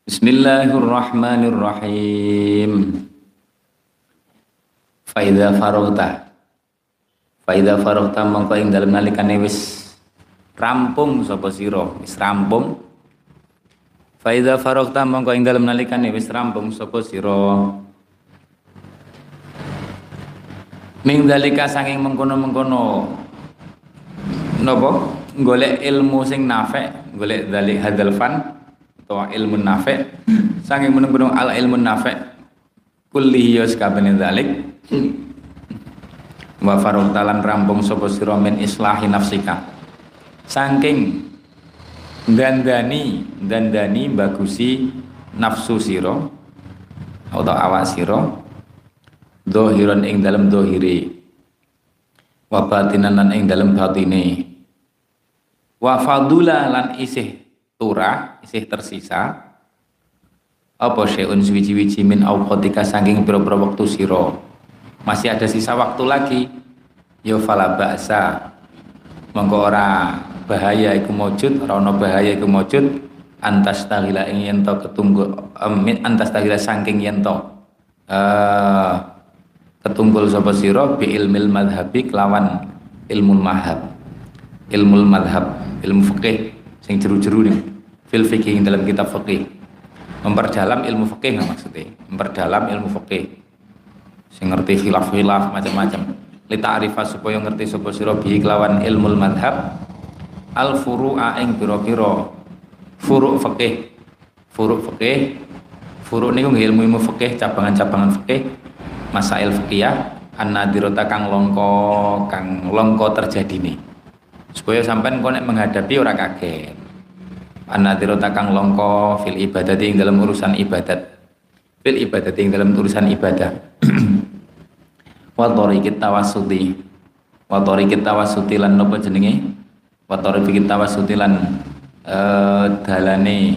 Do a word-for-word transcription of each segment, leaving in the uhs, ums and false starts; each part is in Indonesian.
Bismillahirrahmanirrahim. Faidza faraghta. Faidza faraghta mongko ing dalem nalikane wis rampung sapa sira, wis rampung. Faidza faraghta mongko ing dalem nalikane wis rampung sapa sira. Ming dalika saking mengkono-mengkono napa? Golek ilmu sing nafek, golek dalik hadzal fan atau ilmu nafek saking menung-menung al ilmu nafek kulli yus kabene dalik wa farutalan rampung sapa sira min islahi nafsika saking dandani dandani bagusi nafsu sira atau awak sira dohiron ing dalem dohiri wa batinan lan ing dalem batine wa fadula lan isih turah isih tersisa apa syai'un suwiji-wiji min awqatika saking pira-pira wektu sira masih ada sisa waktu lagi ya fala ba'sa monggo ora bahaya iku mujud ora ana bahaya iku mujud antas taghila ing yen to ketunggul min antas taghila saking yen to uh, ketunggul sapa sira bi ilmil madhabi kelawan ilmu madhab ilmu madhab ilmu fikih sing jeru-jeru nih fil fikih dalam kitab fikih memperdalam ilmu fikih nggak maksudnya memperdalam ilmu fikih sing ngerti khilaf-khilaf macam-macam li ta'rifa supaya ngerti sapa sira bi kelawan ilmu madhab al furu'a ing pira-pira furu' fikih furu' fikih furu' niku ilmu-ilmu fikih cabangan-cabangan fikih masail fikih an-nadirata kang longko kang longko terjadine supaya sampean kok nek menghadapi ora kaget an-nadirata kang longko fil ibadati ing dalam urusan ibadat fil ibadati ing dalam urusan ibadah wa tariqit tawassuti wa tariqit tawassuti lan napa jenenge wa tariqit tawassuti lan eh dalane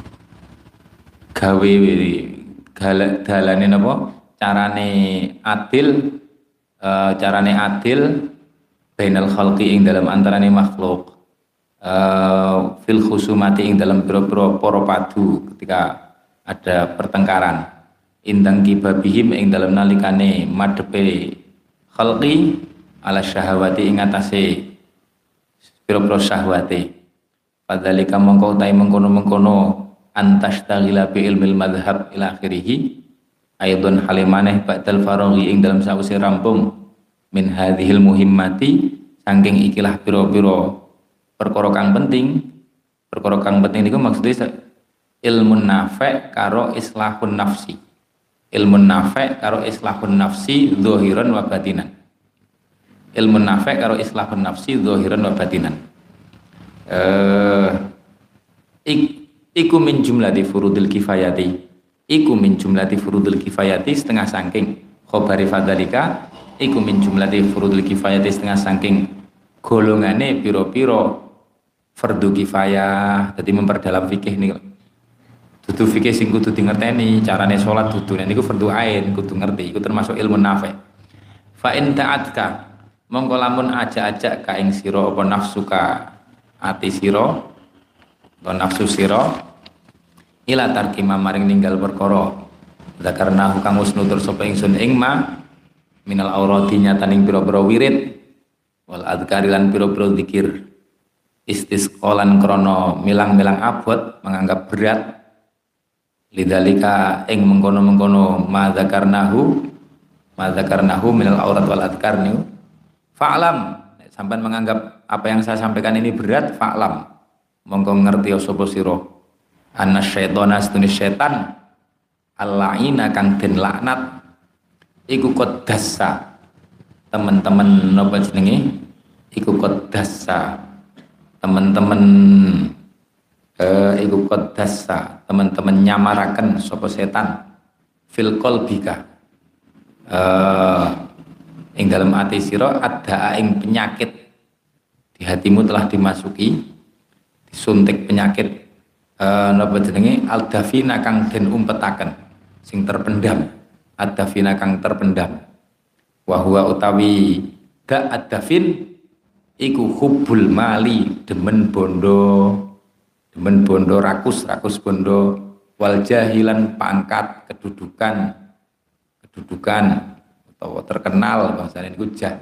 gawe dalane napa carane adil uh, carane adil bainal khalqi ing dalam antarane makhluk uh, fil khusumati ing dalam pira-pira para padu ketika ada pertengkaran indang kibabihim ing dalam nalikane madhepe khalqi ala syahawati ing atase pira-pira syahwate padhalika mongko utahe mengkono-mengkono antastaghila bi ilmil madhhab ila akhirih aidon halimaneh ba'dal faraghi ing dalam sause rampung min hadhil muhimmati saking ikilah pira-pira perkara kang penting perkara kang penting niku maksudnya ilmu nafi' karo islahun nafsi ilmu nafi' karo islahun nafsi zahiran wa batinan ilmu nafi' karo islahun nafsi zahiran wa batinan eh ik, iku min jumlati furudil kifayati iku min jumlati furudul kifayati setengah saking khobari fadhalika iku min jumlati furudul kifayati setengah saking golongane piro-piro fardu kifayah. Jadi memperdalam fikih nih dudu fikih sing kudu di ngerteni carane sholat dudu niku fardu ain kudu ngerti iku termasuk ilmu nafi' fa in ta'atka mongko lamun aja-aja ka ing sira apa nafsuka ati sira atau nafsu sira ila tarkima maring ninggal perkara zakarna kang wis nutur sapa ingsun ing ma minal aurati nyataning pira-pira wirid wal adzkari lan pira-pira zikir istisqalan krana milang-milang abot menganggap berat lidzalika ing mengkono-mengkono ma zakarnahu ma zakarnahu minal aurat wal adzkar niku fa'lam sampean menganggap apa yang saya sampaikan ini berat fa'lam mongko ngerti sapa sira anna syaitana astune setan al-la'ina kang den laknat iku qaddasa teman-teman napa jenenge iku qaddasa teman-teman eh iku qaddasa teman-teman nyamaraken sapa setan fil qalbika eh ing dalam ati sira ada ing penyakit di hatimu telah dimasuki disuntik penyakit Uh, napa jenenge al-dafina kang den umpetaken sing terpendam ad-dafina kang terpendam wa huwa utawi da ad-dafin iku hubbul mali demen bondo demen bondo rakus rakus bondo wal jahilan pangkat kedudukan kedudukan atau terkenal bahasane niku jah.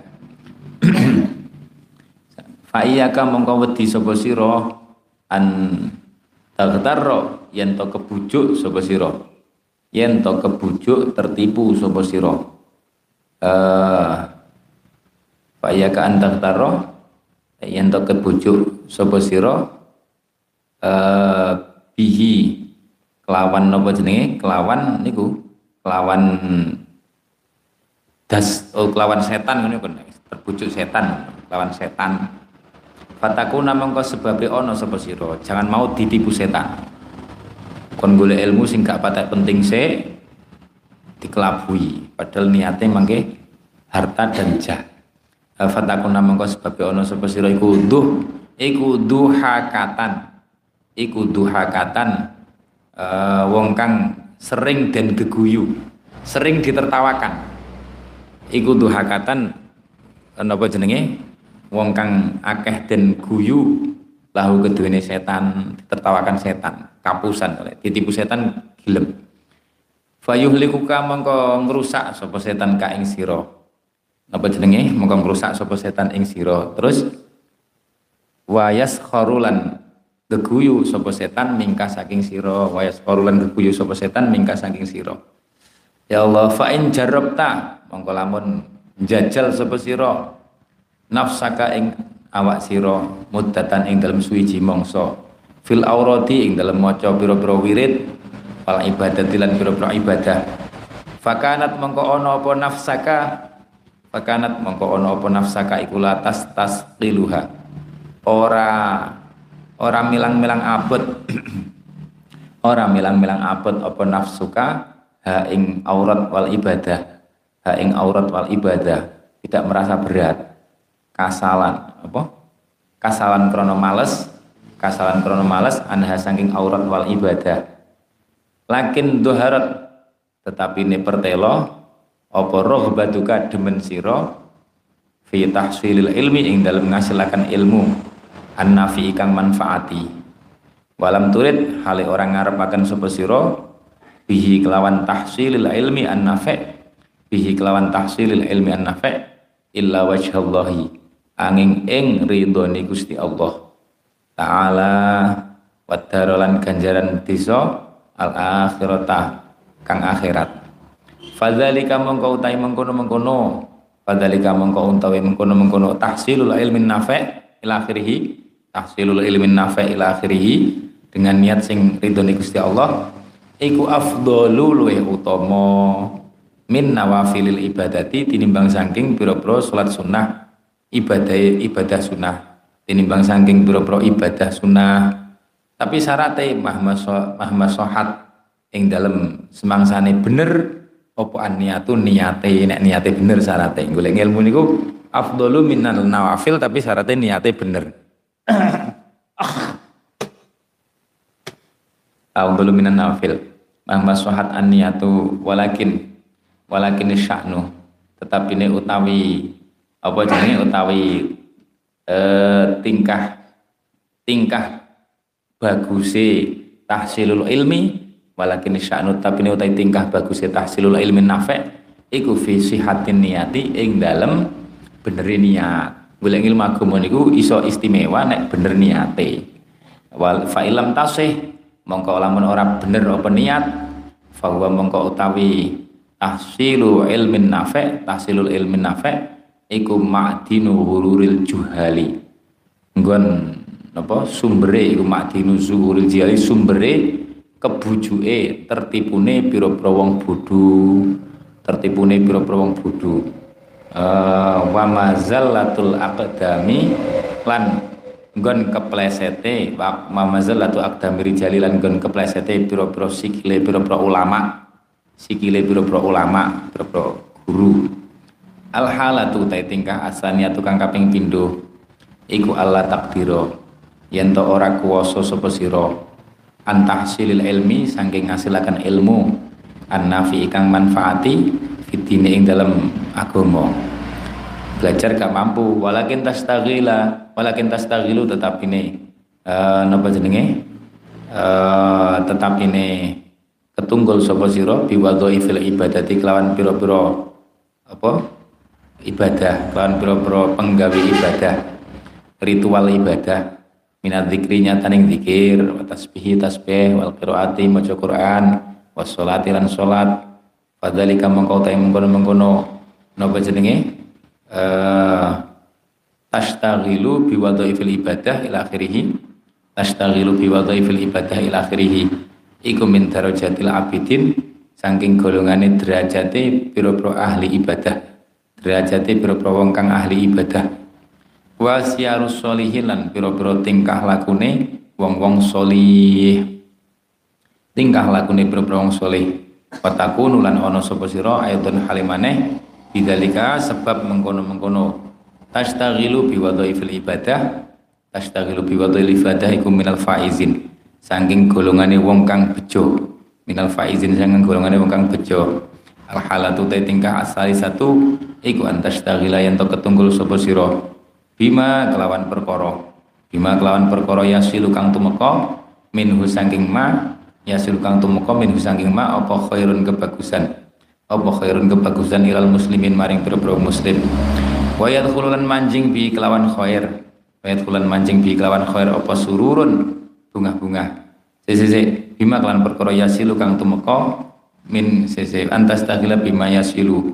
Fa iyyaka mongko wedi sapa sira an tagtarra yen to kebujuk sapa sira yen to kebujuk tertipu sapa sira eh fa iyyaka an tagtarra yen to kebujuk sapa sira eh bihi kelawan napa jenenge kelawan niku kelawan das oh, kelawan setan ngono kan terbujuk setan kelawan setan fatakuna mongko sebabe ana sapa sira jangan mau ditipu setan kon golek ilmu sing gak patek penting sik dikelabui padahal niate mangke harta dan jah fatakuna mongko sebabe ana sapa sira iku duh iku duhakatan iku duhakatan uh, wong kang sering dan geguyu sering ditertawakan iku duhakatan napa jenenge wong kang akeh den guyu lahu keduwene setan ditertawakan setan kapusan oleh ditipu setan gilem fayuhlikuka mongko ngrusak sapa setan ka ing sira napa jenenge mongko ngrusak sapa setan ing sira terus wayas kharulan geguyu sapa setan mingka saking sira wayas kharulan geguyu sapa setan mingka saking sira ya Allah fa in jarabta mongko lamun njajal sapa sira nafsaka ing awak sira muddatan ing dalem suwiji mangsa fil aurati ing dalem maca pira-pira wirid wal ibadati lan pira-pira ibadah fakanat mongko ana apa nafsaka fakanat mongko ana apa nafsaka iku latas tasqiluha ora ora milang-milang abot ora milang-milang abot apa nafsuka ha ing aurat wal ibadah ha ing aurat wal ibadah tidak merasa berat kasalan apa kasalan krono males kasalan krono males anha saking aurat wal ibadah lakin doharat tetapi ini pertelo apa rohbatuka demen sira fi tahsilil ilmi ing dalam ngasilakan ilmu an-nafi kang manfaati walam turid hale orang ngarepaken sapa sira bihi kelawan tahsilil ilmi an-nafi bihi kelawan tahsilil ilmi an-nafi illa wajhallahi angin ing ridhone Gusti Allah taala wadarolan ganjaran desa al akhirata kang akhirat fadzalika mongko utahe mengkono-mengkono fadzalika mongko utahe mengkono-mengkono tahsilul ilmin nafi' ila akhirih tahsilul ilmin nafi' ila akhirih dengan niat sing ridhone Gusti Allah iku afdhalu luwih utama min nawafilil ibadati tinimbang saking pira-pira salat sunnah ibadah ibadah sunnah tinimbang saking pira-pira ibadah sunnah tapi syaratnya mahma sohat ing dalem semangsane bener apa niatu niate nek niate bener syaratnya golek ilmu niku afdalu minal nawafil tapi syaratnya niate bener afdalu minan nawafil mahma sohat an niatu walakin walakin sya'nu tetapi ini utawi apa jenenge utawi eh, tingkah tingkah baguse tahsilul ilmi walakin sya'nu tapi ini utawi tingkah baguse tahsilul ilmi nafi' iku fi sihatin niyati ing dalem bener niat golek ilmu agama niku iso istimewa nek bener niate wal fa ilam tasih mongko lamun ora bener apa niat fa huwa mongko utawi tahsilu ilmin nafi' tahsilul ilmin nafi' iku ma'dinu hururil juhali nggon apa sumbere iku ma'dinu zuhuril juhali sumbere kebujuke tertipune pira-pira wong bodho tertipune pira-pira wong bodho uh, wa mazallatul aqdami lan nggon keplesete wa mazallatul aqdami rijali lan nggon keplesete pira-pira sikile pira-pira ulama sikile pira-pira ulama pira-pira guru al halatu ta tingkah asaniyatu kang kaping pindho iku Allah takdira yen to ora kuwasa sapa sira antahsilil ilmi saking ngasilaken ilmu an-nafi kang manfaati fitine ing dalam agama belajar gak mampu walakin tastaghila walakin tastaghilu tetap ini uh, napa jenenge uh, tetap ini ketunggul sapa sira biwadhaifil ibadati kelawan pira-pira apa ibadah, kelawan pira-pira penggawe ibadah, ritual ibadah, minat dzikri nyataning zikir, wa tasbihi tasbih, wal qiraati maca Quran, was sholati lan salat. Fadzalika mongko ta mengkono-mengkono napa jenenge eh tashtaghilu biwadhaifil ibadah ila akhirih, tashtaghilu biwadhaifil ibadah ila akhirih. Iku min darajatil abidin saking golongane derajate pira-pira ahli ibadah, derajate pira-pira wong kang ahli ibadah. Wa siyarus sholihin lan pira-pira tingkah lakune wong-wong sholih, tingkah lakune pira-pira wong sholih. Watakunu lan ana sapa sira ayatun halimane bidzalika sebab mengkono-mengkono tashtaghilu biwadhaifil ibadah, tashtaghilu biwadhaifil ibadah iku minal faizin saking golongane wong kang bejo, minal faizin saking golongane wong kang bejo. Al halatu ta tingkah asali satu iku antastaghila yen to ketunggul sapa sira bima kelawan perkara, bima kelawan perkara yasilu kang tumeka minhu saking ma, yasilu kang tumeka minhu saking ma apa khairun kebagusan, apa khairun kebagusan ilal muslimin maring pira-pira muslim. Wa yadkhululan manjing bi kelawan khair, wa yadkhululan manjing bi kelawan khair apa sururun bunga-bunga. Sese bima kelan perkara yasilu kang tumeka min sese antas tagila bima yasilu,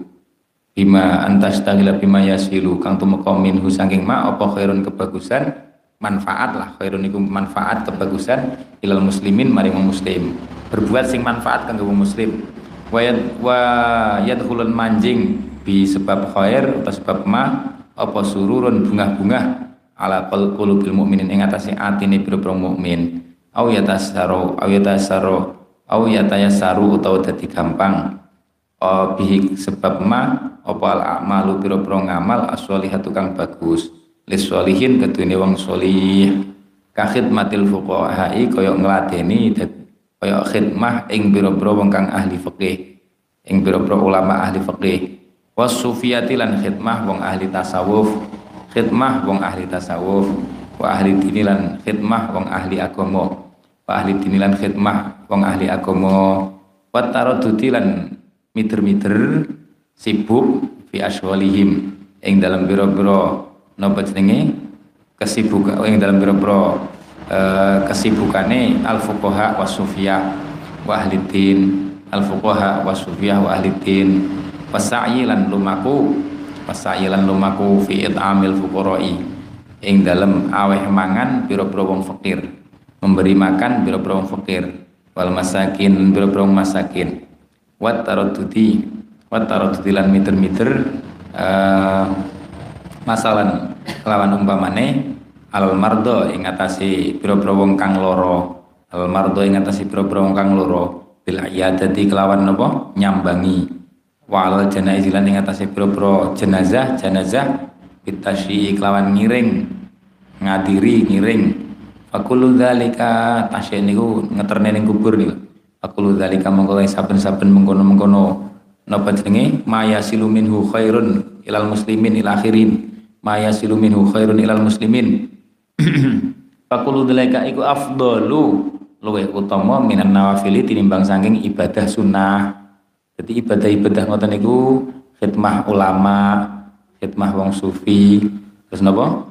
bima antas tagila bima yasilu kang tumeka minhu saking ma apa khairun kebagusan, manfaat lah, khairun iku manfaat kebagusan ilal muslimin maring wong muslim, berbuat sing manfaat kanggo wong muslim. Wa wa yadkhulun manjing bi sebab khair atau sebab ma apa sururun bunga-bunga ala qulubil mukminin ing atase atine pira-pira mukmin. Au yatasaru au yatasaru au yatayasaru utawa dadi gampang oh, bihi sebab ma apa al a'malu pira-pira ngamal as-sholihatu kang bagus lis-sholihin kedune wong sholih ka khidmatil fuqaha'i kaya ngladeni kaya khidmah ing pira-pira wong kang ahli fikih, ing pira-pira ulama ahli fikih. Was sufiyati lan khidmah wong ahli tasawuf, khidmah wong ahli tasawuf. Wa ahli dinilan khidmah wong ahli agama, wa ahli dinilan khidmah wong ahli agama. Wa taradduti lan miter-miter sibuk fi aswalihim ing dalam biro-biro napa jenenge kesibukan, ing dalam biro-biro uh, kesibukane al fuqaha was sufiyah wa ahli din, al fuqaha was sufiyah wa ahli din. Wasa'yi lan lumaku, wasa'yi lan lumaku fi it'amil fuqara'i ing dalem aweh mangan pira-pira wong fakir, memberi makan pira-pira wong fakir, wal masakin pira-pira wong masakin. Wat taraddudi, wat taraddudi lan miter-miter uh, masalan kelawan umpamane al mardo ing atase pira-pira wong kang lara, al mardo ing atase pira-pira wong kang lara bil iyadati kelawan napa nyambangi, wa al janaiz lan ing atase pira-pira jenazah, jenazah bitasyi kelawan ngiring, ngadiri ngiring. Fakulu dzalika tasya niku ngeterne ning kubur niku. Fakulu dzalika mongko saben-saben mengkono-mengkono napa jenenge maya silu minhu khairun ilal muslimin ila akhirin, maya silu minhu khairun ilal muslimin. Fakulu dzalika iku afdalu luwih utama minan nawafili tinimbang saking ibadah sunnah. Jadi ibadah-ibadah ngoten niku khidmah ulama, khidmah wong sufi, terus napa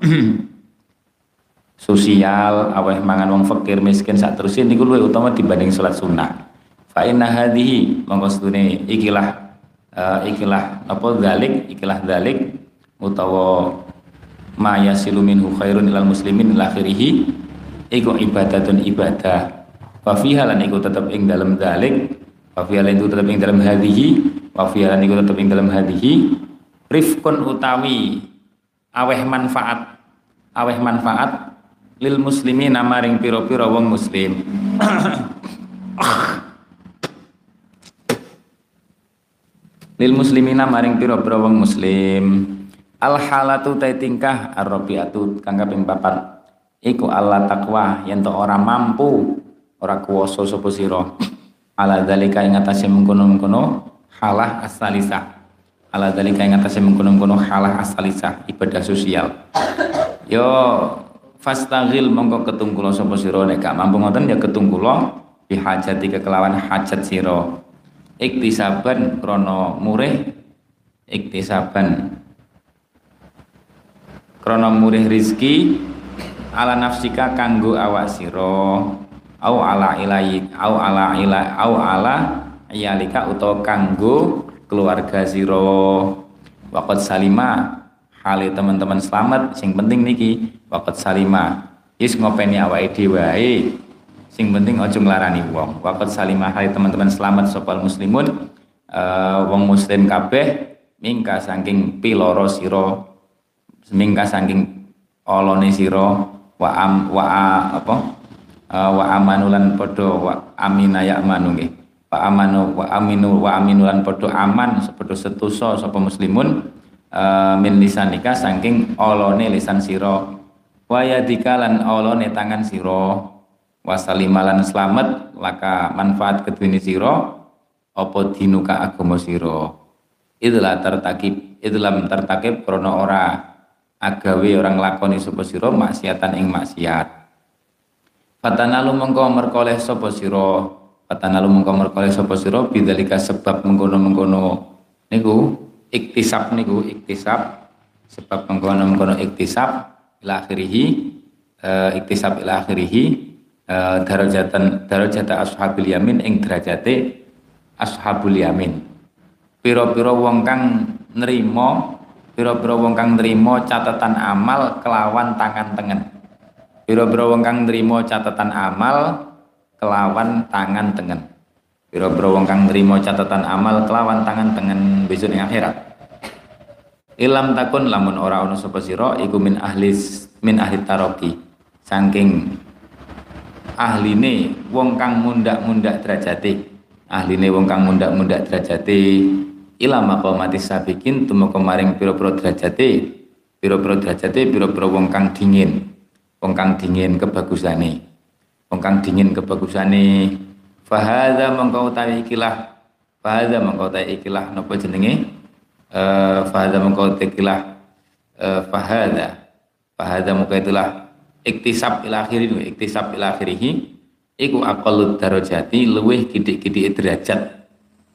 sosial, aweh mangan wong fakir miskin sak terusin niku luwih utama dibanding salat sunnah. Fa inna hadhihi mongko sedune ikilah uh, ikilah apa dzalik, ikilah dzalik utawa ma yasilu minhu khairun ilal muslimin ila akhirih iku ibadatun ibadah. Wa fiha lan iku tetep ing dalem dzalik, wa fiha lan iku tetep ing dalem hadhihi, wa fiha lan iku tetep ing dalem hadhihi rifkun utawi aweh manfaat, aweh manfaat lil muslimin maring pira-pira wong muslim. Lil muslimina maring pira-pira wong muslim. Al halatu ta tingkah ar-rabiatu kang kaping papat iku Allah takwa yen to ora mampu, ora kuwasa sapa sira ala zalika ing atase mengkono-mengkono halah as-salisah, ala dalika ing atase mengkono-mengkono halah as-salisah ibadah sosial. Yo fastaghil mongko ketungkula sapa sira nek gak mampu ngoten ya ketungkula bihajatika kelawan hajat sira iktisaban krana murih iktisaban krana murih rizki ala nafsika kanggo awak sira au ala ilahi au ala ila au ala iyalika utawa kanggo keluarga sira waqad salima hale teman-teman selamat sing penting niki waqad salima is ngopeni awake dhewe wae sing penting aja nglarani wong waqad salima hale teman-teman selamat sopal muslimun uh, wong muslim kabeh mingka saking piloro sira mingka saking olone sira wa am wa apa uh, wa amanulan padha wa amina ya manu nggih wa amanu wa aminu wa aminulan padha aman padha setusa sapa muslimun uh, min lisanika saking olone lisan sira wa yadika lan olone tangan sira wa salimalan slamet laka manfaat kedune sira apa dinuka agama sira itulah tertakib itulah tertakib krana ora agawe orang lakoni sapa sira maksiatan ing maksiat fatanalu mengko merkoleh sapa sira fatanalu mengko merkoleh sapa sira bidzalika sebab mengkono-mengkono niku iktisab niku iktisab sebab mengkono-mengkono iktisab ila akhirih uh, iktisab ila akhirih uh, darajatan darajata ashabil yamin ing derajate ashabul yamin pira-pira wong kang nrimo pira-pira wong kang nrimo catatan amal kelawan tangan tengen pira-pira wong kang nrimo catatan amal kelawan tangan tengen pira-pira wong kang nrimo catatan amal kelawan tangan tengen besok ing akhirat ilam takun lamun ora ana sapa sira iku min ahlis min ahli taraqi saking ahline wong kang mundak-mundak derajate ahline wong kang mundak-mundak derajate ila maqamati sabiqin tumeka maring pira-pira derajate pira-pira derajate pira-pira wong kang dingin wong kang dingin kebagusane wong kang dingin kebagusane fahadza mengko utawi ikilah fahadza mengko utawi ikilah napa jenenge eh fahadza mengko ikilah eh fahadza fahadza mengko itulah iktisab ila akhirih iktisab ila akhirih iku aqalud darajati luwih kidik-kidik derajat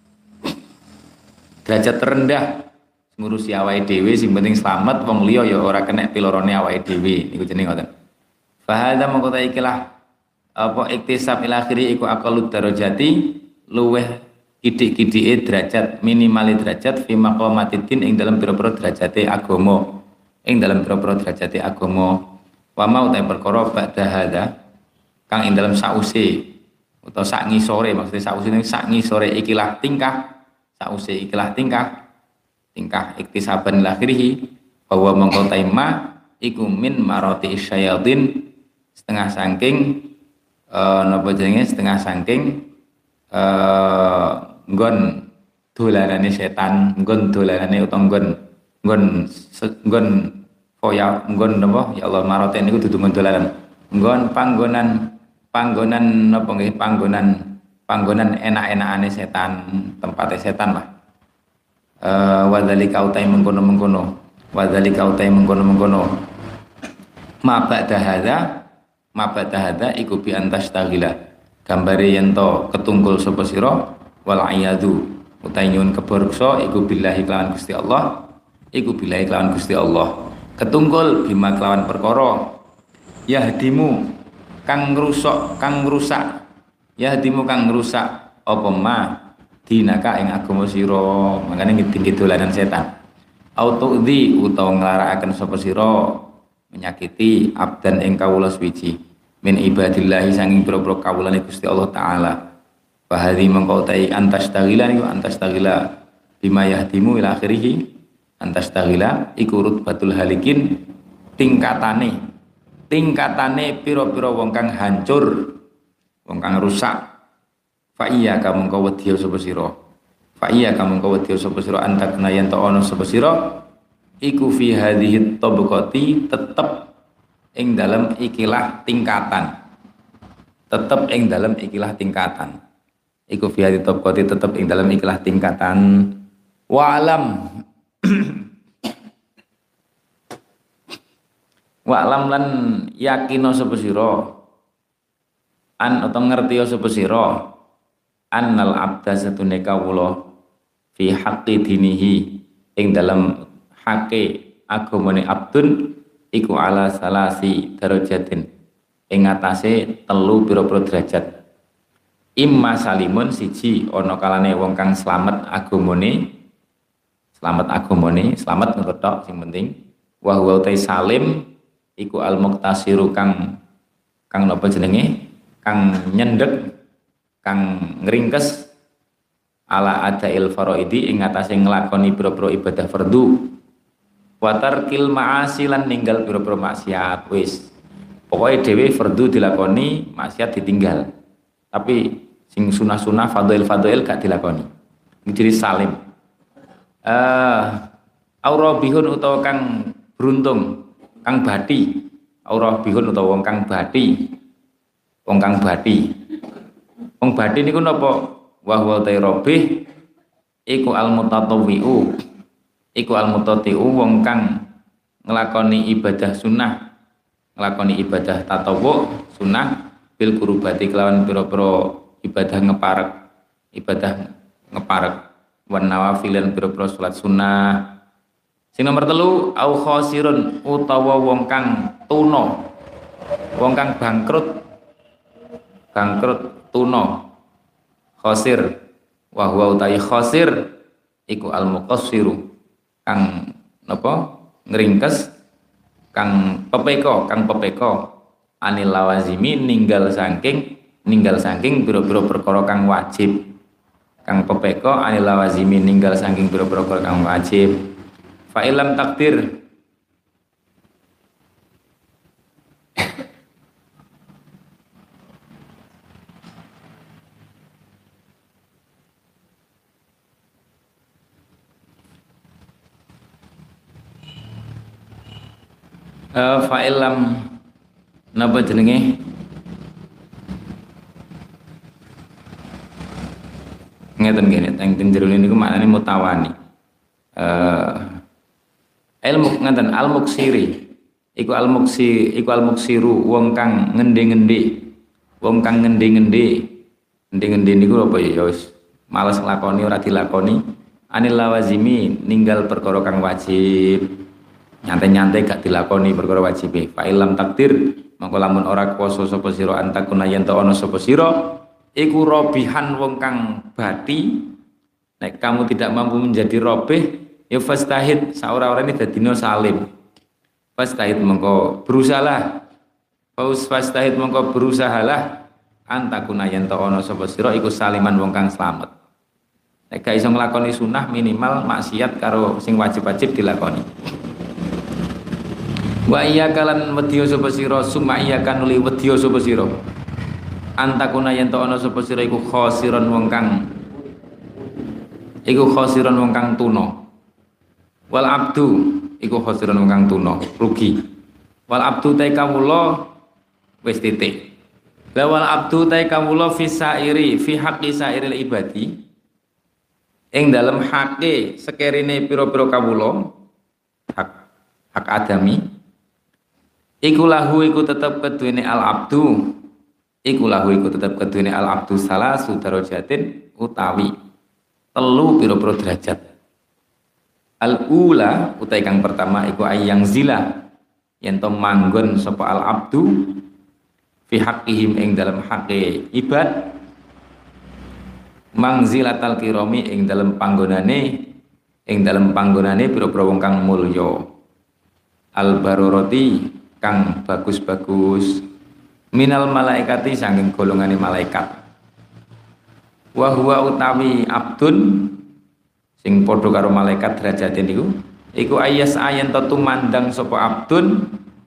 derajat terendah ngurusi awake dhewe sing penting slamet wong liya ya ora kena pilorone awake dhewe niku jenenge ngoten fa hadza mongko ta ikilah apa iktisab ila akhiri iku aqalud darajati luweh kidik-kidike derajat minimal derajat fi maqamatid ing dalam pira-pira derajate agama ing dalam pira-pira derajate agama wa mau ta perkara ba'da hadza kang ing dalam sause utawa sak ngisore maksudnya sause ning sak ngisore ikilah tingkah sause ikilah tingkah tingkah iktisaban lakhirihi bahwa mengko taima iku min marati syayatin setengah saking eh napa jenenge setengah saking eh nggon dolanane setan nggon dolanane utawa nggon nggon nggon foya nggon napa ya Allah marate niku dudu nggon dolanan nggon panggonan panggonan napa nggih panggonan panggonan enak-enakane setan, tempatnya setan lah. Eh wadzalika utai mengkono-mengkono, wadzalika utai mengkono-mengkono. Ma ba'da hadza, ma ba'da hadza iku bi antas taghila. Gambare yen to ketungkul sapa sira wal iyadu utai nyuwun keburksa iku billahi kelawan Gusti Allah, iku billahi kelawan Gusti Allah. Ketungkul bima kelawan perkara yahdimu kang ngrusak, kang ngrusak ya hadimu kang ngrusak apa ma dinaka ing agama sira mangane ngiding dolanan setan autu'dhi utawa nglarakaken sapa sira menyakiti abdan ing kawula suci min ibadillahi sanging pira-pira kawulane Gusti Allah taala fa hadhi mangko tai antas taghila niku antas taghila bima yahdimu ila akhirih antas taghila iku rutbatul halikin tingkatane tingkatane pira-pira wong kang hancur wong kang rusak fa iya kamu kau wedya sapa sira fa iya kamu kau wedya sapa sira antakna yen ta ana sapa sira iku fi hadhihi tabaqati tetep ing dalam ikilah tingkatan tetep ing dalam ikilah tingkatan iku fi hadhihi tabaqati tetep ing dalam ikilah tingkatan wa alam wa alam lan yakina sapa sira an atau ngerti sapa sira annal abda satune kawula fi haqqi dinihi ing dalam hake agamane abdun iku ala salasi darajatin ing atase telu pira-pira derajat. Imma salimun siji ana kalane wong kang slamet agamane, slamet agamane, slamet ngono sing penting. Wa huwa utai salim iku al muqtasiru kang kang napa jenenge? Kang nyendek, kang ngringkes ala adail faraidi ing atase nglakoni pira-pira ibadah fardu. Wa tarkil ma'asi lan ninggal pira-pira maksiat wis. Pokoke dhewe fardu dilakoni, maksiat ditinggal. Tapi sing sunah-sunah fadhail-fadhail gak dilakoni. Jadi salim. Eh uh, aurabihun utawa kang beruntung, kang bati. Aurabihun utawa wong kang bati. Wong kang bati. Wong bati niku napa? Wa huwa tayrabih iku al-mutatawwi'u. Iku al-mutati'u wong kang nglakoni ibadah sunnah, nglakoni ibadah tatawu sunnah bil kurubati kelawan pira-pira ibadah ngeparek, ibadah ngeparek wan nawafil lan pira-pira salat sunnah. Sing nomor telu au khosirun utawa wong kang tuna, wong kang bangkrut, bangkrut tuna, khosir. Wa huwa utai khosir iku al muqassiru kang napa ngringkes, kang pepeko, kang pepeko anil lawazimi ninggal saking ninggal saking biro-biro perkara kang wajib, kang pepeko anil lawazimi ninggal saking biro-biro perkara kang wajib. Fa ilam takdir Uh, fa'ilam napa jenenge ngeten ngene teng jero niku maknane mutawani. Uh, ilmu ngeten al-muksiri iku al-muksi iku al-muksiru wong kang ngende-ngende, wong kang ngende-ngende. Ngende-ngende niku apa ya wis males nglakoni ora dilakoni anil lawazimi ninggal perkara kang wajib. Nyantai-nyantai gak dilakoni perkara wajib. Fa ilam takdir mongko lamun ora kuwasa sapa sira antakuna yen ta ana sapa sira iku robihan wong kang bati. Nek kamu tidak mampu menjadi robih ya fastahid saora-orane dadina salim. Fastahid mongko berusahalah. Faus fastahid mongko berusahalah antakuna yen ta ana sapa sira iku saliman wong kang slamet. Nek gak iso nglakoni sunah minimal maksiat karo sing wajib-wajib dilakoni. Wa iya kalan wedya sapa sira summa iya kanuli wedya sapa sira antakuna yen ta ana sapa sira iku khosiron wong kang iku khosiron wong kang tuna wal abdu iku khosiron wong kang tuna rugi wal abdu ta kawula wis titik la wal abdu ta kawula fi sairi fi haqqi sairil ibadi ing dalem hake sekerine pira-pira kawula hak hak adami iku lahu iku tetep keduwene al abdu iku lahu iku tetep keduwene al abdu salah sudarajatin utawi telu pira-pira derajat. Al ula utai kang pertama iku ayang zila yen to manggon sapa al abdu fi haqqihim ing dalam hake ibad mangzilatal kirami ing dalam panggonane ing dalam panggonane pira-pira wong kang mulya al baroroti kang bagus-bagus minal malaikati saking golongane malaikat. Wa huwa utawi abdun sing padha karo malaikat derajate niku iku ayas ayen tetu mandang sapa abdun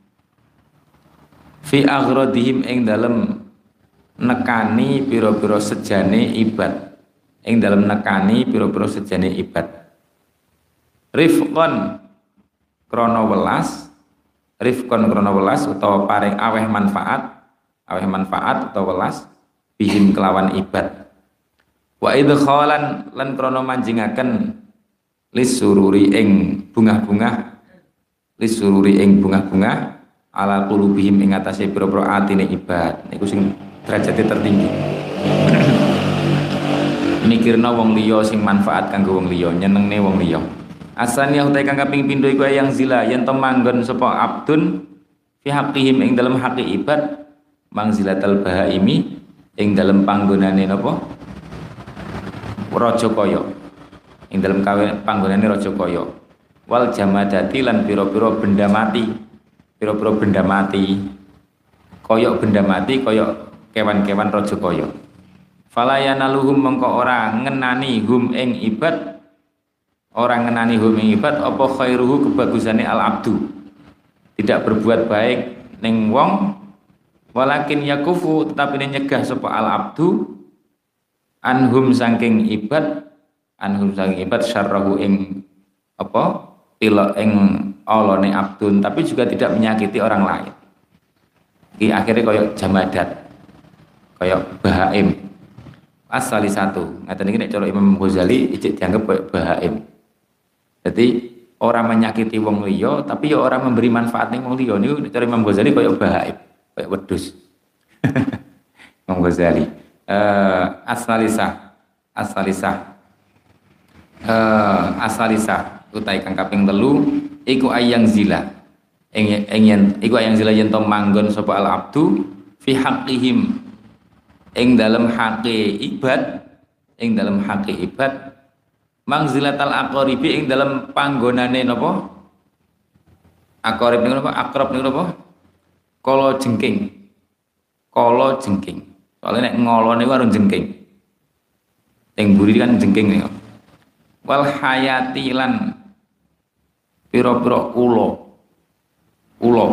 fi aghradihim ing dalem nekani pira-pira sejane ibad ing dalem nekani pira-pira sejane ibad rifqan krana welas rifkon krono welas utawa paring aweh manfaat aweh manfaat utawa welas bihim kelawan ibad wa idkhalan lan krono manjingaken lisururi ing bungah-bungah lisururi ing bungah-bungah ala qulubihim ing atase pira-pira atine ibad niku sing derajate tertinggi. Mikirna wong liya sing manfaat kanggo wong liya, nyenengne wong liya. Asani utai kang kaping pindho iku yang zila yen to manggon sapa abdun fi haqqihim ing dalem haqi ibad mangzilatal bahaimi ing dalem panggonane napa raja kaya ing dalem panggonane raja kaya wal jamadati lan pira-pira benda mati pira-pira benda mati kaya benda mati kaya kewan-kewan raja kaya falayanaluhum mengko ora ngenani hum ing ibad ora ngenani hum ing ibad apa khairuhu kebagusane al abdu tidak berbuat baik ning wong walakin yakufu tetapi nyegah sapa al abdu anhum saking ibad anhum saking ibad syarrahu ing apa pila ing olone abdun tapi juga tidak menyakiti orang lain. Iki akhirnya koyok jamadat koyok bahaim asali satu ngaten iki nek cara Imam Ghazali ijek dianggap koyok bahaim. Jadi orang menyakiti wong liya tapi ya orang memberi manfaat ning wong liya niku cara Imam Ghazali koyok bahaim koyok wedhus. Imam Ghazali uh, asalisah asalisah uh, asalisah utai kang kaping telu iku ayang zila ing ing iku ayang zila yen to manggon sapa al abdu fi haqqihim ing dalem haqe ibad ing dalem haqe ibad mangzilatal aqribi ing dalem panggonane napa aqrib niku napa akrab niku napa kala jengking kala jengking soalnya nek ngolo niku karo jengking ing buri kan jengking niku wal hayati lan pira-pira ula ula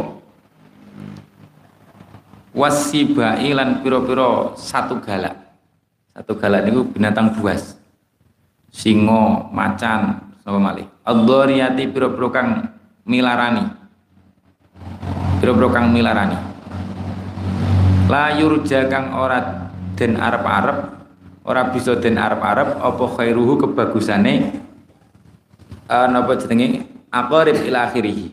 wasibai lan pira-pira satu galak satu galak niku binatang buas singa macan sapa malih ad-dhariyati pira-pira kang milarani pira-pira kang milarani la yurja kang ora den arep-arep ora bisa den arep-arep apa khairuhu kebagusane uh, napa jenenge aqarib ila akhirih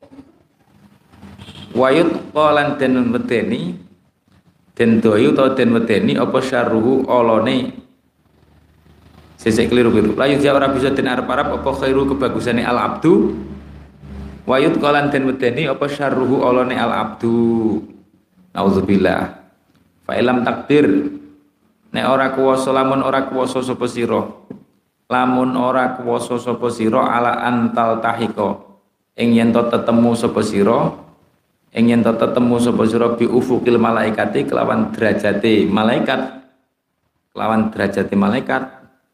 wayut qalan den medeni den doyu utawa den medeni apa syarruhu olone sesek keliru-keliru layut ya ora bisa den arep-arep apa khairu kebagusane al abdu wayut qalan den medeni apa syarruhu olone al abdu naudzubillah fa ilam takdir nek ora kuwasa lamun ora kuwasa sapa sira lamun ora kuwasa sapa sira ala antal tahiko ing yen to tetemu sapa sira ing yen to tetemu sapa sira bi ufukil malaikati kelawan derajate malaikat kelawan derajate malaikat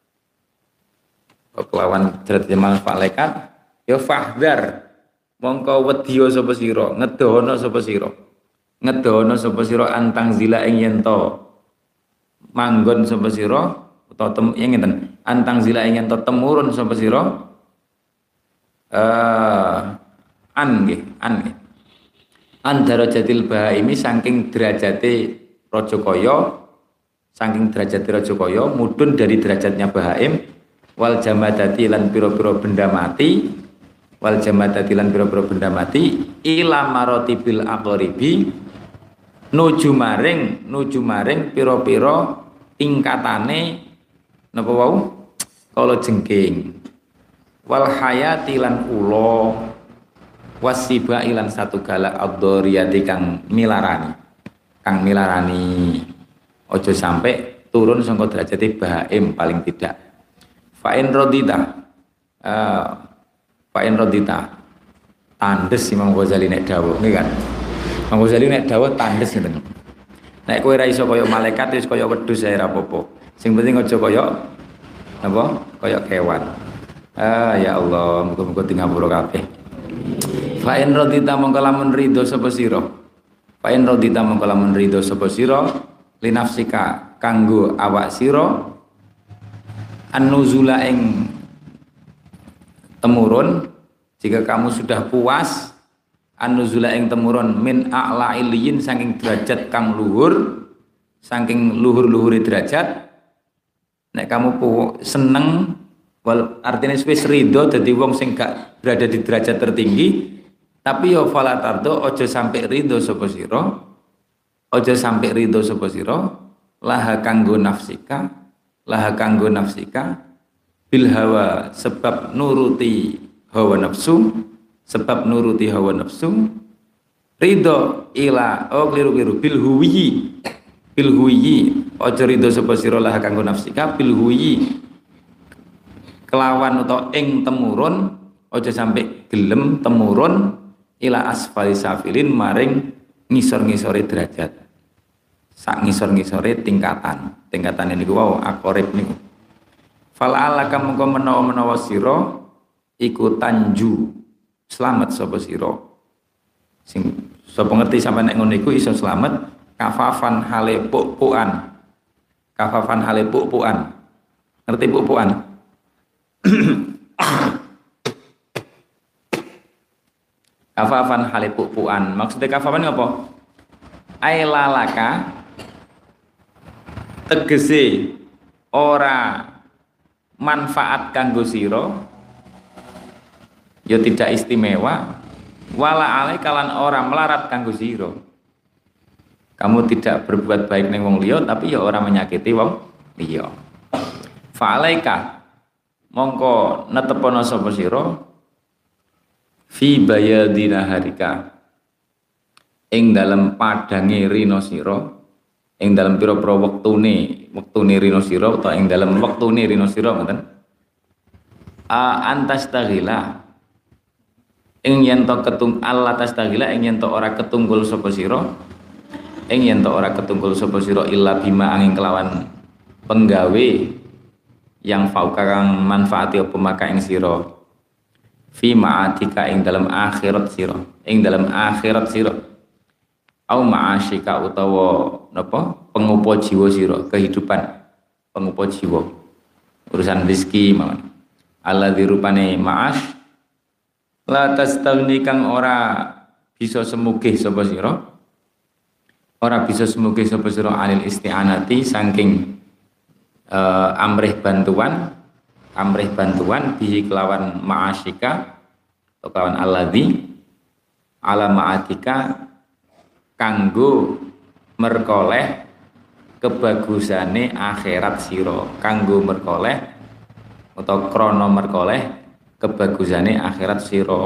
kelawan derajate malaikat ya fahdar mongko wedya sapa sira ngedono sapa sira ngedono sapa sira antang zila ing yen to manggon sapa sira utawa tem ing ngeten antang zila ing yen to temurun sapa sira eh an nggih an nggih an darajatil bahaimi saking derajate raja kaya saking derajate raja kaya mudun dari derajatnya bahaim wal jamadati lan pira-pira benda mati wal jamadati lan pira-pira benda mati ila maratibil aqribi nuju maring nuju maring pira-pira tingkatane napa wau kala jengking wal hayati lan ula wasiba ilan satu galak ad-dhariyati kang milarani kang milarani ojo sampai turun sangka derajate bahaim paling tidak fa in radita uh, fa in radita tandes Imam Ghazali nek dawuh nggih kan Imam Ghazali nek dawuh tandes ngeten nek kowe ra iso kaya malaikat wis kaya wedhus ae ra apa-apa sing penting aja kaya apa kaya kewan ah ya Allah muga-muga tingapura kabeh fa in radita mongko lamun ridho sapa sira fa in radita mongko lamun ridho sapa sira linafsika kanggo awak sira an-nuzula ing temurun jika kamu sudah puas an-nuzula ing temurun min a'la iliyin saking derajat kang luhur saking luhur-luhure derajat nek kamu seneng wal artinya wis ridho dadi wong sing gak berada di derajat tertinggi tapi yo fala tardo aja sampai ridho sapa sira Aja sampai ridho sapa sira laha kanggo nafsika, laha kanggo nafsika bil hawa sebab nuruti hawa nafsu, sebab nuruti hawa nafsu ridho ila oh keliru-keliru bil huwi bil huwi aja ridho sapa sira laha kanggo nafsika bil huwi kelawan utawa ing temurun aja sampai gelem temurun ila asfali safilin maring ngisor-ngisore derajat sak ngisor-ngisore tingkatan tingkatan niku wau akorib niku fal alaka mengko menawa-menawa sira iku tanju selamat sapa sira sing sapa ngerti sampeyan nek ngono iku iso selamat kafafan hale puk-pukan kafafan hale puk-pukan ngerti puk-pukan kafafan hale puk-pukan maksudnya kafafan apa ai lalaka tegese ora manfaat kanggo sira ya tidak istimewa wala alai kalan ora melarat kanggo sira kamu tidak berbuat baik ning wong liya tapi ya ora menyakiti wong liya fa alaika mongko netepono sapa sira fi bayadina harika ing dalem padange rina sira ing dalem pira-pira wektune wektune rina sira utawa ing dalem wektune rina sira ngoten a antastaghila ing yen to ketung Allah tastaghila ing yen to ora ketunggul sapa sira ing yen to ora ketunggul sapa sira illa bima angin kelawan penggawe yang fauka kang manfaati apa maka ing sira fi ma'atika ing dalam akhirat sira ing dalam akhirat sira au ma'asyika utawa napa pengupo jiwa sira kehidupan pengupo jiwa urusan rezeki mawon alladzi rupane ma'ash la tastaghni kang ora bisa semugih sapa sira ora bisa semugih sapa sira anil isti'anati saking uh, amrih bantuan amrih bantuan bihi kelawan ma'asyika atau kelawan alladzi ala ma'atika kanggo merkoleh kebagusane akhirat sira kanggo merkoleh atau krono merkoleh kebagusane akhirat sira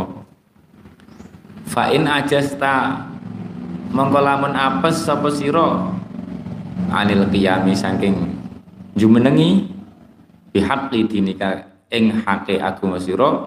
fa in ajasta mongko lamun apes sapa sira anil qiyami saking jumenengi bihaqqi dinika ing hake agama sira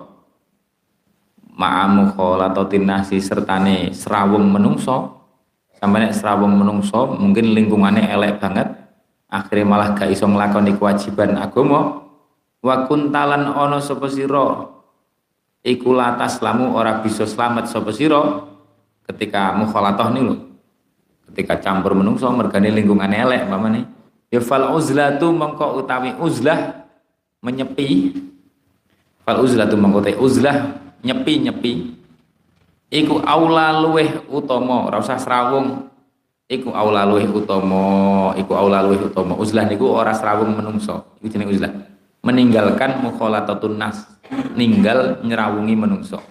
ma'amu kholatatin nasi sertane serawung menungso sampai nek serawung menungso mungkin lingkungannya elek banget akhirnya malah gak iso nglakoni kewajiban agama wa kuntalan ana sapa sira iku latas lamu ora bisa slamet sapa sira ketika mukhalatah niku ketika campur menungso mergane lingkungannya elek pamane ya fal uzlatu mongko utawi uzlah menyepi fal uzlatu mongko te uzlah nyepi-nyepi iku aula luweh utama ora usah srawung iku aula luweh utama iku aula luweh utama uzlah niku ora srawung menungso iku jenenge uzlah meninggalkan mukhalatatun nas ninggal nyerawungi menungso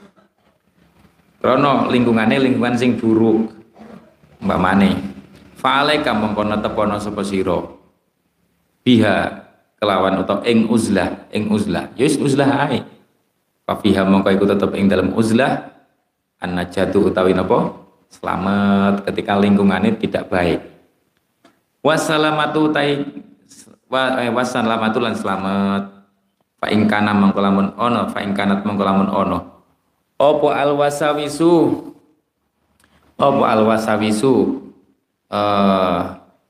krana lingkungane lingkungan sing buruk umpamane fa'alaika mongko netepono sapa sira biha kelawan utawa ing uzlah ing uzlah ya wis uzlah ae fa fiha mongko iku tetep ing dalam uzlah an-najatu utawi napa selamat ketika lingkungannya tidak baik wassalamatu tai wassalamatu lan selamat fa ing kana mongko lamun ono fa ing kanat mongko lamun ono apa al wasawisu apa al wasawisu uh,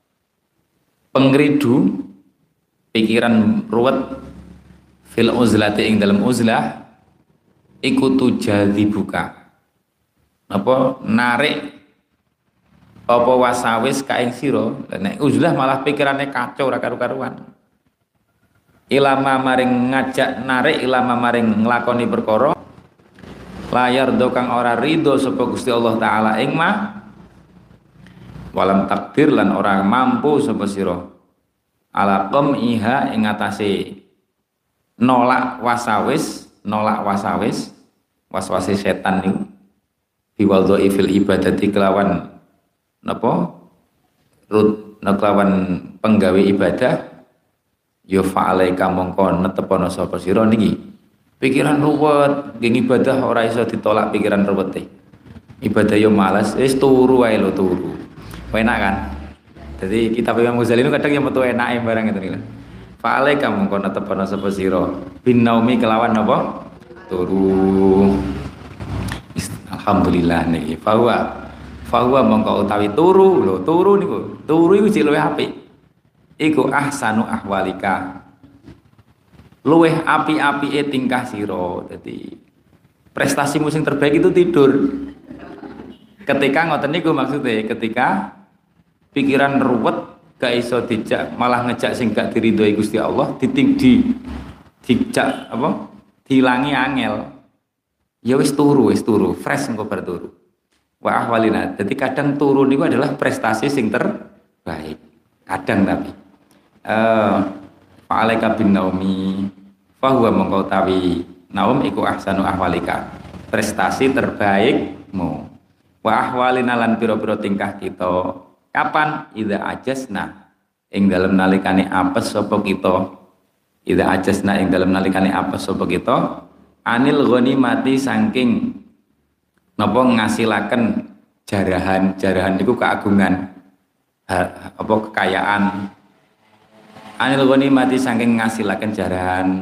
pengridu pikiran ruwet fil uzlati ing dalam uzlah ikutu jadi buka apa narik apa wasawis kaing sira nek uzlah malah pikirannya kacau ora karu-karuan ilama maring ngajak narik ilama maring nglakoni perkara layar do kang ora ridho sapa Gusti Allah taala ing mah walam takdir lan ora mampu sapa sira ala qamiha ing atase nolak wasawis nolak wasawis waswase setan niku biwadhaifil ibadati kelawan napa rut kelawan penggawe ibadah ya fa'alaika mongko netepono sapa sira niki pikiran ruwet nggih ibadah ora iso ditolak pikiran ruwete ibadah yo malas wis turu wae lho turu enak kan jadi kitab Imam Ghazali itu kadang yang metu enake barang itu nih fa'alaika mongko netepono sapa sira bin naumi kelawan apa turu alhamdulillah niki fawa fawa mongko utawi turu lho turu niku turu iku jek luwih apik iku ahsanu ahwalika luwih api-apike tingkah sira dadi prestasimu sing terbaik itu tidur ketika ngoten niku maksudnya ketika pikiran ruwet gak iso dijak malah ngejak sing gak diridhoi Gusti Allah diting di dijak apa dilangi angel ya wis turu wis turu fresh engko bar turu wa ahwalina jadi kadang turu niku adalah prestasi sing terbaik kadang tapi eh fa'alaika bin naumi fahuwa mongko tawi naum iku ahsanu ahwalika prestasi terbaikmu wa ahwalina lan pira-pira tingkah kita kapan idza ajasna ing dalem nalikane apes sapa kita idza ajasna ing dalem nalikane apes sapa kita anil ghanimati saking napa ngasilaken jarahan jarahan niku keagungan ha, apa kekayaan anil ghanimati saking ngasilaken jarahan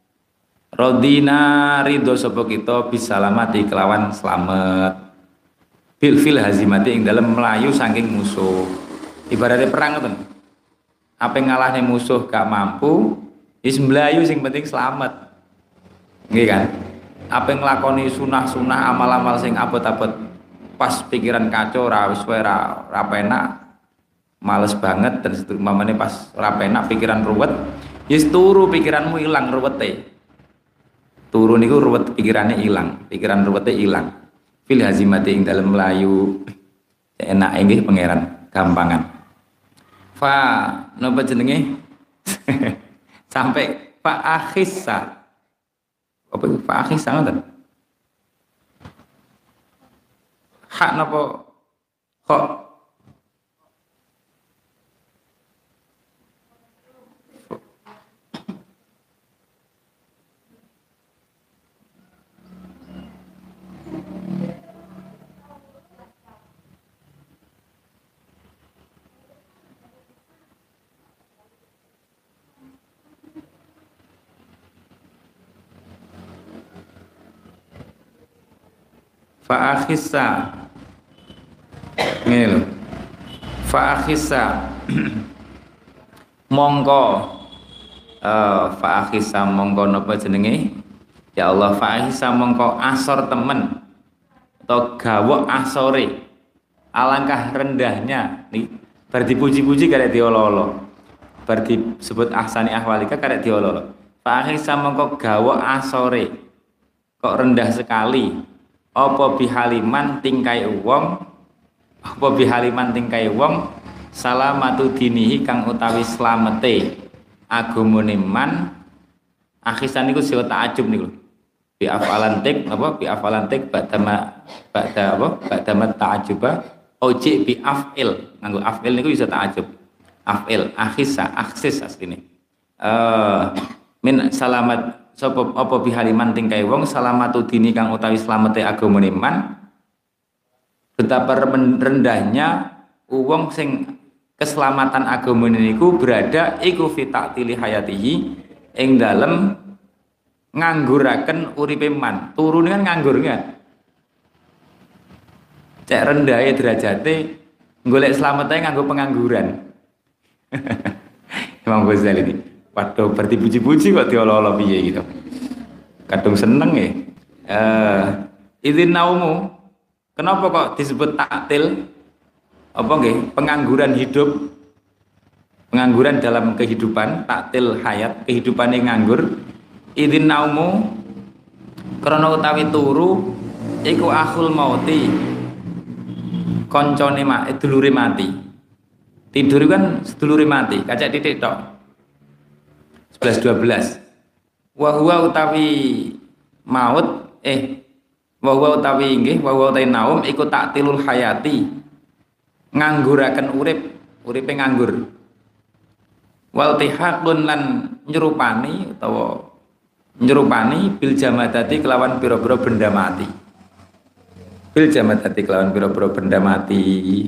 radina ridho sapa kita bisalamati kelawan slamet bil fil hazimati ing dalam melayu saking musuh ibaratnya perang ngoten apa ngalahne musuh gak mampu wis mlayu sing penting selamat nggih kan apa nglakoni sunah-sunah amal-amal sing abot-abot pas pikiran kacau ra wis wae ra ra penak males banget dan mamane pas ra penak pikiran ruwet wis turu pikiranmu ilang ruwete turu niku ruwet pikirane ilang pikiran ruwete ilang fil hazimati ing dalem melayu enak nggih pangeran gampangan fa napa jenenge sampai fa akhissa apa itu fa akhissa ngoten hak napa kok fa'akhissa ngene lho fa'akhissa mongko uh, fa'akhissa mongko napa jenenge ya Allah fa'akhissa mongko asor temen atau gawok asore alangkah rendahnya nih bar dipuji-puji karek diolo-olo bar disebut ahsani ahwalika karek diolo-olo fa'akhissa mongko gawok asore kok rendah sekali apa bihaliman tingkai wong apa bihaliman tingkai wong salamatu dinihi kang utawi slamete agamane man akhisan niku sing takjub niku bi afalantik apa bi afalantik badama bada apa badama ta'ajuba oji bi afil nganggo afil niku bisa takjub afil akhisa aksis asline eh uh, min salamat sapa apa bihaliman tingkai wong salamatu dini kang utawi slamete agamane man betapa rendahnya wong sing keselamatan agamane niku berada iku fi ta'tili hayatihi ing dalem ngangguraken uripe man turune kan nganggur kan cek rendahe derajate golek slamete nganggo pengangguran Imam Ghazali ini waduh berarti puji-puji kok diolo-olo piye gitu kadung seneng ya eh izin naumu kenapa kok disebut taktil apa nggih pengangguran hidup pengangguran dalam kehidupan taktil hayat kehidupan yang nganggur izin naumu karena utawi turu iku akhul mauti koncone mak dulure mati tidur kan sedulure mati kacak titik tok sebelas dua belas wa huwa utawi maut eh wa huwa utawi inggih wa huwa utawi naum iku taktilul hayati ngangguraken urip uripe nganggur. Wal tihaqun lan nyerupani utawa nyerupani bil jamadati kelawan pira-pira benda mati. Bil jamadati kelawan pira-pira benda mati.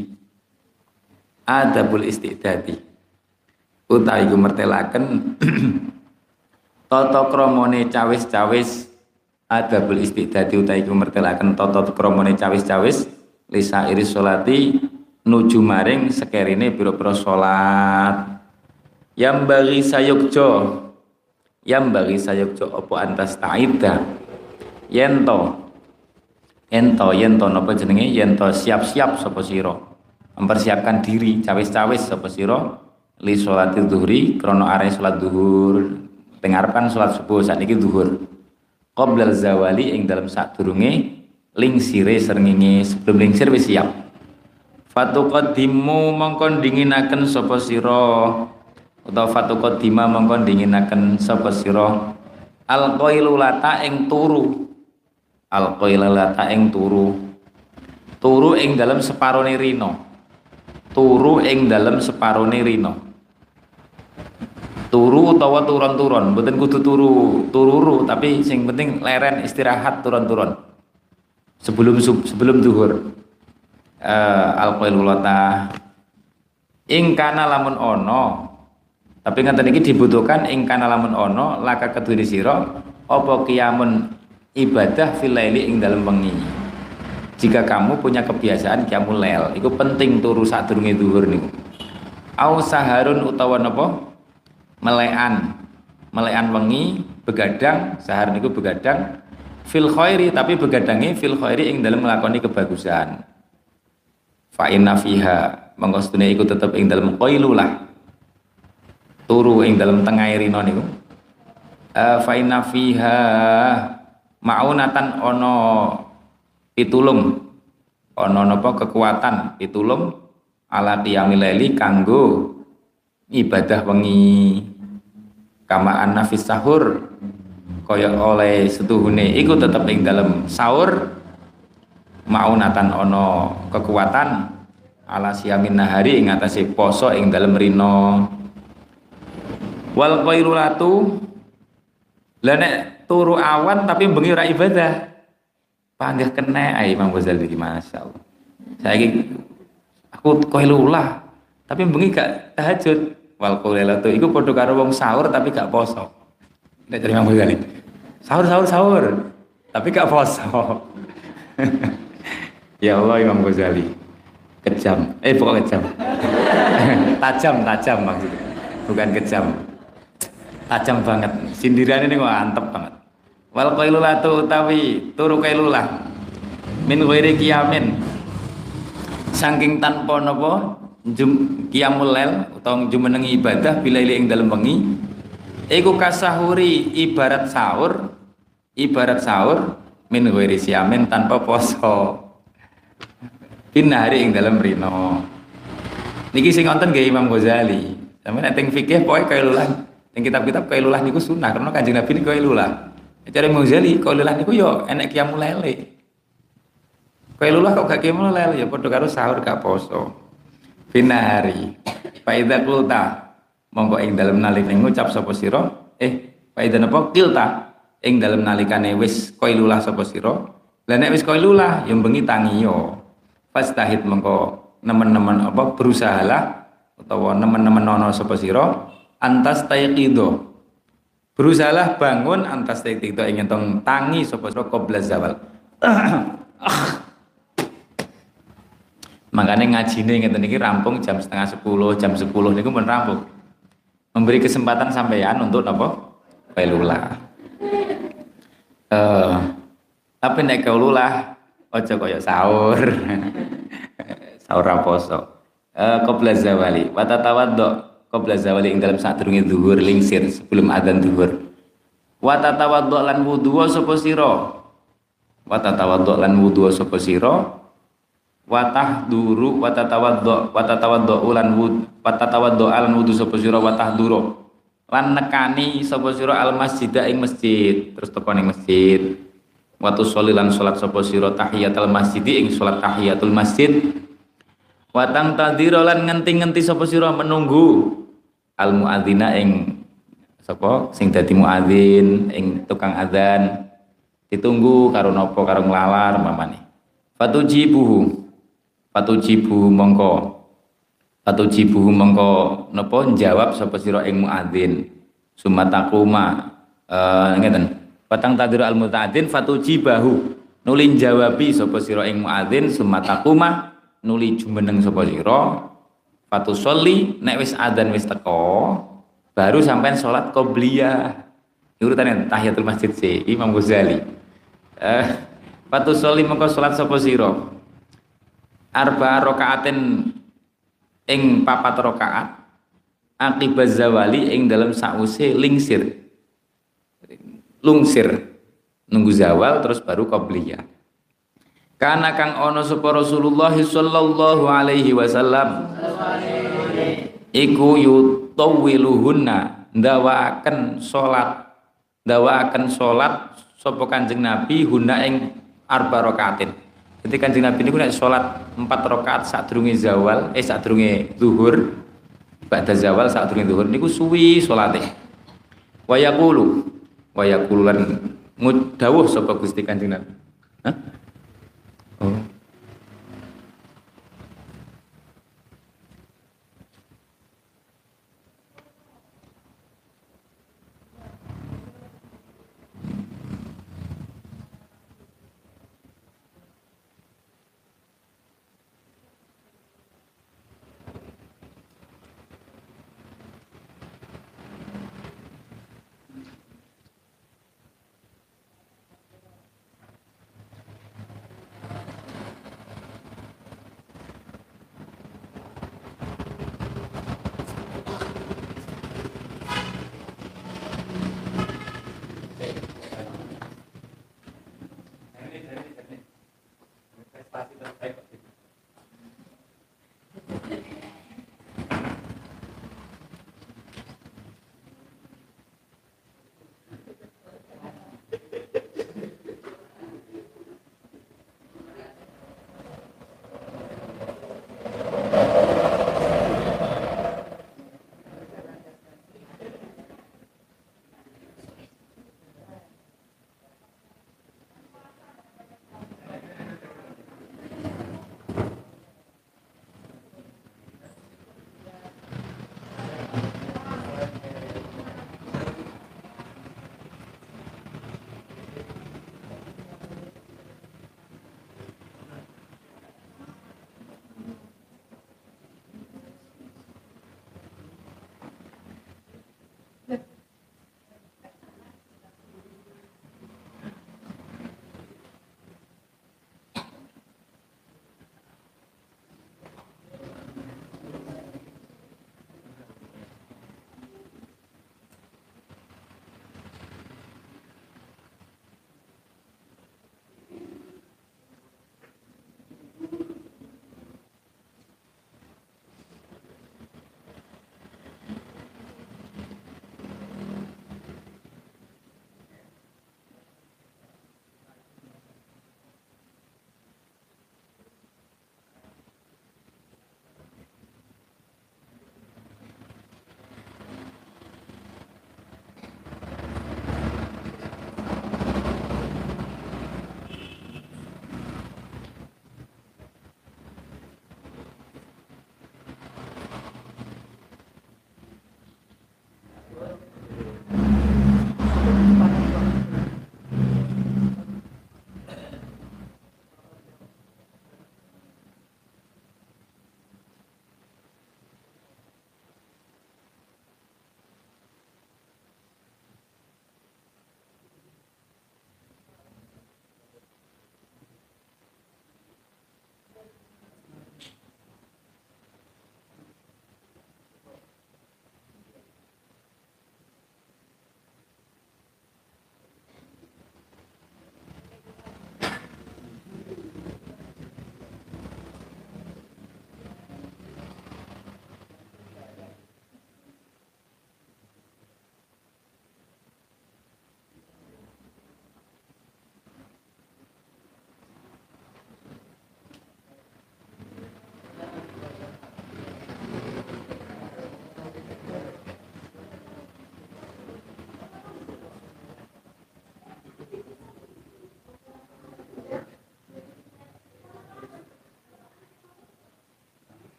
Adabul istidadi. Utawi iku mertelaken tata kramane cawis-cawis adabul istidadi utawi iku mertelaken tata kramane cawis-cawis lisa iris sholati nuju maring sekerine pira-pira salat. Yang bagi sayukjo yang bagi sayukjo apa antas taida yento yento yento napa jenenge yento siap-siap sapa sira mempersiapkan diri cawis-cawis sapa sira li sholati dhuhri krana arep salat zuhur tengarepan salat subuh sakniki zuhur qoblal zawali ing dalem sadurunge lingsire srengenge sebelum lingsir wis siap fatuqaddimu mongkon dinginaken sapa sira utawa fatuqaddima mongkon dinginaken sapa sira alqailulata ing turu alqailulata ing turu turu ing dalem separone rina turu ing dalem separone rina turu utawa turun-turun mboten kudu turu tururu tapi sing penting leren istirahat turun-turun sebelum sebelum zuhur uh, alqailulata ing kana lamun ono tapi ngeten iki dibutuhkan ing kana lamun ono laka kedune sira apa kiamun ibadah fil laili ing dalem wengi. Jika kamu punya kebiasaan qiyamul lail iku penting turu sadurunge zuhur niku. Au saharun utawa napa melekan melekan wengi begadang sahar niku begadang fil khairi tapi begadange fil khairi ing dalem nglakoni kebagusan. Fa inna fiha monggo sedene iku tetep ing dalem qailulah turu ing dalam tengah rino niku uh, fa inna fiha maunatan ono pitulung ono napa kekuatan pitulung ala qiyamil laili kanggo ibadah wengi kama annafis sahur kaya oleh setuhune iku tetep ing dalam sahur maunatan ono kekuatan ala siyamin nahari ing atase poso ing dalam rino wal qailulatu la nek turu awan tapi bengi ora ibadah panggah kena ae Imam Ghazali iki masyaallah saiki aku qailulah tapi bengi gak tahajud wal qailulatu iku padha karo wong sahur tapi gak poso nek dari Imam Ghazali sahur sahur sahur tapi gak poso ya Allah Imam Ghazali kejam eh bukan kejam tajam tajam maksudnya bukan kejam tajam banget sindiran ini kok antep banget wal qailulatu utawi turu qailulah min ghairi qiyamin saking tanpa napa jum qiyamul lail utawa jumenengi ibadah bilaili ing dalem wengi iku kasahuri ibarat sahur ibarat sahur min ghairi siyamin tanpa poso binari ing dalem rino niki sing wonten nggih Imam Ghazali sampe nek teng fikih pokoke qailulah yang kitab-kitab qailulah niku sunah karena Kanjeng Nabi niku qailulah. Cara Ghazali qailulah niku yo enek qiyamul lail. Qailulah kok gak qiyamul lail ya padha karo sahur gak poso. Finahari. Fa idza qulta monggo ing dalem nalikane ngucap sapa sira eh fa idza napa qilta ing dalem nalikane wis qailulah sapa sira. Lah nek wis qailulah yo bengi tangi yo. Fastahid monggo nemen-nemen apa berusahalah utawa nemen-nemen ana sapa sira antas tayqido berusahalah bangun antas tayqido ingin tong tangi sapa sira qabla zawal makanya ngajine ngeten iki rampung jam setengah sepuluh jam sepuluh niku pun rampung memberi kesempatan sampeyan untuk napa qailulah eh tapi nek qailulah aja kaya sahur sahur ra poso eh qabla zawali wa tatawaddo qabla zawali ing dalam sadurunge zuhur lingsir sebelum adzan zuhur wa tatawaddo lan wudu sapa sira wa tatawaddo lan wudu sapa sira wa tahduru wa tatawaddo wa tatawaddo lan wudu wa tatawaddo lan wudu sapa sira wa tahduru lan nekani sapa sira al masjida ing masjid terus teko ning masjid wa tusolli lan salat sapa sira tahiyatul masjid ing salat tahiyatul masjid Watang tadhira lan ngenti-ngenti sapa sira menunggu al muadzina ing sapa sing dadi muadzin ing tukang adzan ditunggu karo napa karo nglalar mamane fatujibuhu fatujibuhu mongko fatujibuhu mongko napa jawab sapa sira ing muadzin sumatakuma eh ngeten watang tadhira al muadzin fatujibahu nuli jawabi sapa sira ing muadzin sumatakuma nuli jumeneng sapa sira fatusolli nek wis adzan wis teko baru sampean salat qobliyah urutane tahiyatul masjid si Imam Ghazali eh fatusolli mengko salat sapa sira arba rakaatin ing papat rakaat akibaz zawali ing dalam sause lingsir lungsir nunggu zawal terus baru qobliyah. Karena kang ono sapa Rasulullah sallallahu alaihi wasallam iku yutawwiluhunna ndawaaken salat ndawaaken salat sapa Kanjeng Nabi hunna ing arba rakaatin. Jadi Kanjeng Nabi niku nek salat empat rakaat sadurunge zawal eh sadurunge zuhur ba'da zawal sadurunge zuhur niku suwi salate. Wa yaqulu wa yaqulu lan ngudawuh sapa Gusti Kanjeng Nabi. Hah? Oh.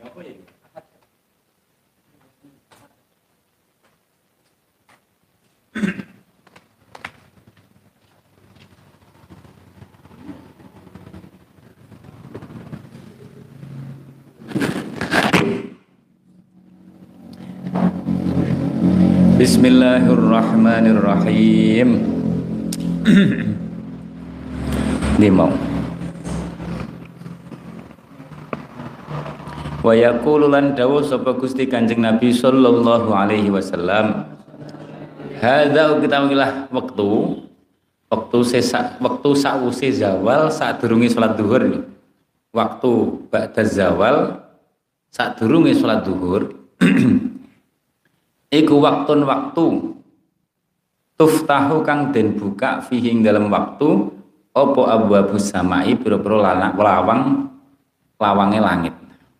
Bismillahirrahmanirrahim. Limau. Wa yaqulu lan dawuh sapa Gusti Kanjeng Nabi sallallahu alaihi wasallam, hadza kita wilah wektu waktu sesak waktu sakwise zawal sadurunge salat zuhur. Waktu ba'da zawal sadurunge salat zuhur. Iku waktun waktu tuftahu kang den buka fihi ing dalam waktu apa abwabus samai pira-pira lanak lawang lawange langit.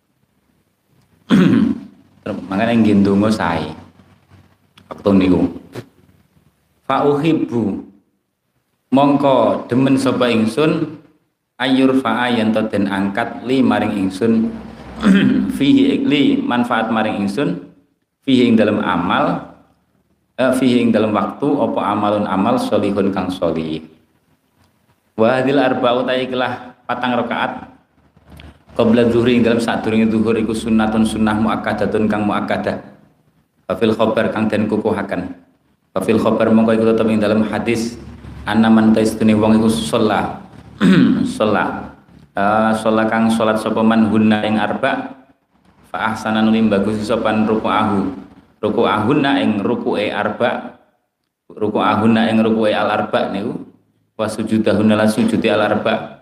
Makane nggih ndonga sae waktu niku. Fa uhibbu mongko demen sapa ingsun ayur fa'a yen to den angkat li maring ingsun fihi ikli manfaat maring ingsun fihi ing dalam amal eh, fihi ing dalam waktu apa amalun amal solihun kang solih. Wa hadil arba'u ta'ikilah patang rakaat qabla zuhri ing dalam sadurunge zuhur iku sunnatun sunnah muakkadatun kang muakkadah. Fa fil khabar kang den kukuhaken. Fa fil khabar mongko iku tetep ing dalam hadis ana man taistune wong iku sholat sholat uh, sholat kang sholat sapa man hunna ing arba' fa ahsana nulim bagus sopan ruku'ahu ruku'ahunna ing ruku'e arba ruku'ahunna ing ruku'e al arba niku wa sujudahunna la sujudi al arba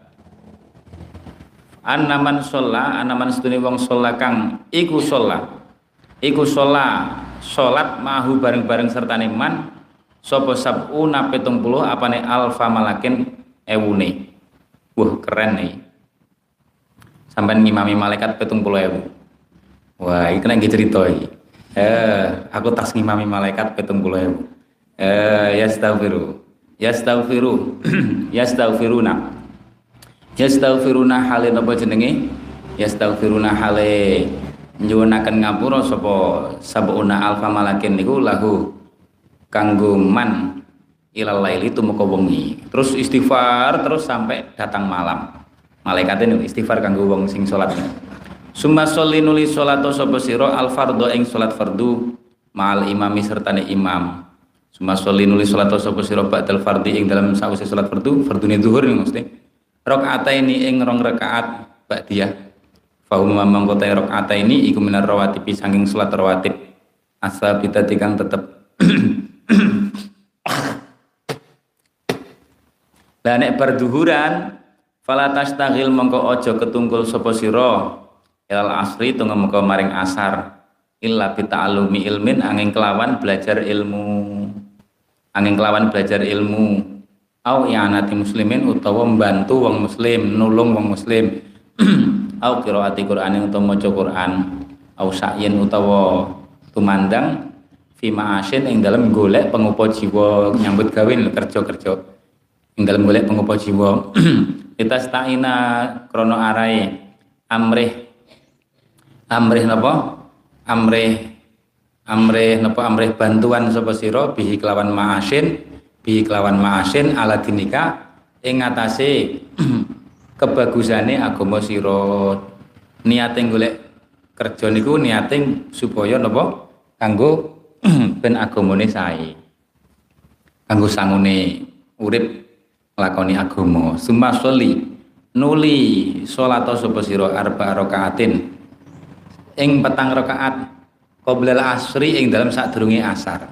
annaman sholla annaman sedune wong sholla kang iku sholla iku sholla sholat mahu bareng-bareng sertane man sapa sab'una pitung puluh apane alfa malakin ewune. Wah keren nih sampean ngimami malaikat pitung puluh ewu. Wah, iki kena cerita iki. Eh, aku tas ngimami malaikat pitung puluh ewu. Eh, yastaghfiru. Yastaghfiru. Yastaghfiruna. Yastaghfiruna hale napa jenenge? Yastaghfiruna hale nyuwunaken ngapura sapa sabuna alfa malakin niku lahu kanggo man ilal laili tumeka wengi. Terus istighfar terus sampai datang malam. Malaikate niku istighfar kanggo wong sing salat. Summa sholli nuli sholato sapa sira al fardhu ing salat fardu ma'al imami sertane imam. Summa sholli nuli sholato sapa sira ba'dal fardhi ing dalam sawise salat fardu fardune zuhur mesti rakaataini ing rong rakaat ba'diyah. Fa hum mangko ta rakaataini iku minar rawatib saking salat rawatib asabitati kang tetep. Lah nek berduhuran fala tastaghil mongko aja ketungkul sapa sira ilal asri tunggu muka maring asar illa bita'alumi ilmin angin kelawan belajar ilmu angin kelawan belajar ilmu au i'anati muslimin utawa membantu wong muslim nulung wong muslim au qiraati Qur'an utawa maca Qur'an au sa'yin utawa tumandang fi ma'asyin ing dalem golek pengupa jiwa nyambut gawe kerja-kerja ing dalem golek pengupa jiwa kita sta'ina krono arae amrih amrih napa amrih amrih napa amrih bantuan sapa sira bihi kelawan ma'asin bihi kelawan ma'asin ala dinika ing ngatasé kebagusane agama sira niate golek kerja niku niate supaya napa kanggo ben agamane sae kanggo sangune urip nglakoni agama. Summa sholli nuli sholata sapa sira arba rakaatin ing petang rakaat qoblal asri ing dalam sadurunge asar.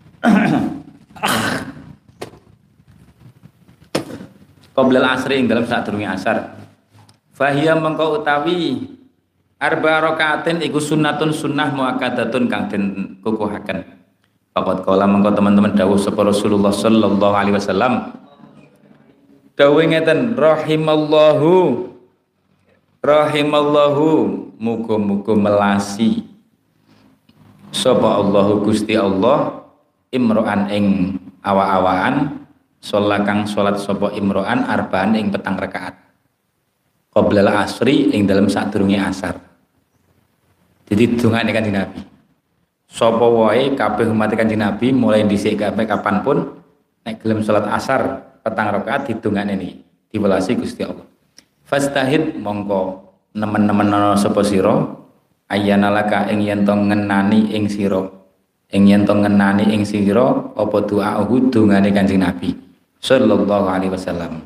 Qoblal asri ing dalam sadurunge asar. Fahiya mengko utawi arba rakaatin iku sunnatun sunnah muakkadatun kang den kukuhaken. Faqad qala mengko teman-teman dawuh sapa Rasulullah sallallahu alaihi wasallam. Dawuh ngeten rahimallahu rahimallahu muga-muga melasi sapa Allahu Gusti Allah imro'an ing awa-awaan sholat kang sholat sapa imro'an arbaan ing petang rakaat qoblal asri ing dalam sadurunge asar. Jadi dongane Kanjeng Nabi. Sapa wae kabeh umat Kanjeng Nabi mulai dhisik kabeh kapanpun nek gelem salat asar petang rakaat didongane niki diwelasi Gusti Allah. Fastahid mongko nemen-nemen ana sapa sira ayyana laka ing yen to ngenani ing sira ing yen to ngenani ing sira apa doahu dongane Kanjeng Nabi sallallahu alaihi wasallam.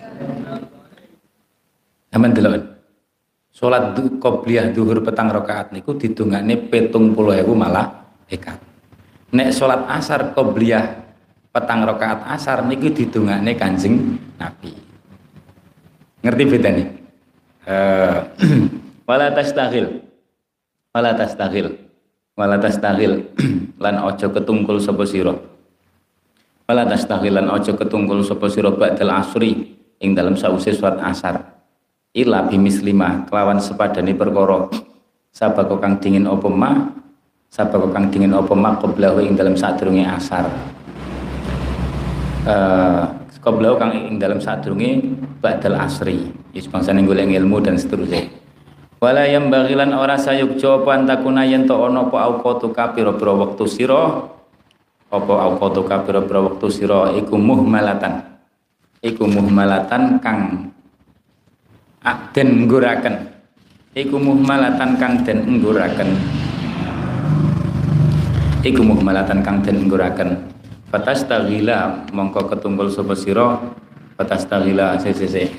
Aman delok. Salat qobliyah zuhur petang rakaat niku didongane pitung puluh ewu malaikat. Nek salat asar qobliyah petang rakaat asar niku didongane Kanjeng Nabi. Ngerti bedane? Eh wala tastaghil. Wala tastaghil. Wala tastaghil lan aja ketungkul sapa sira. Wala tastaghil lan aja ketungkul sapa sira ba'dal asri ing dalem sause salat asar. Ila bimislima kelawan sepadane perkara sabako kang dingin apa ma sabako kang dingin apa ma qablahu ing dalam sadurunge asar eh qablahu kang ing dalam sadurunge ba'dal asri wis bangsane golek ilmu dan seterusnya. Wala yang bagilan ora sayukja apa antakuna yen to ana apa auqatu kapira-pira wektu sira apa auqatu kapira-pira wektu sira iku muhmalatan iku muhmalatan kang den ngguraken iku muhmalatan kang den ngguraken iku muhmalatan kang den ngguraken fatastaghila mongko ketunggul sapa sira fatastaghila sesese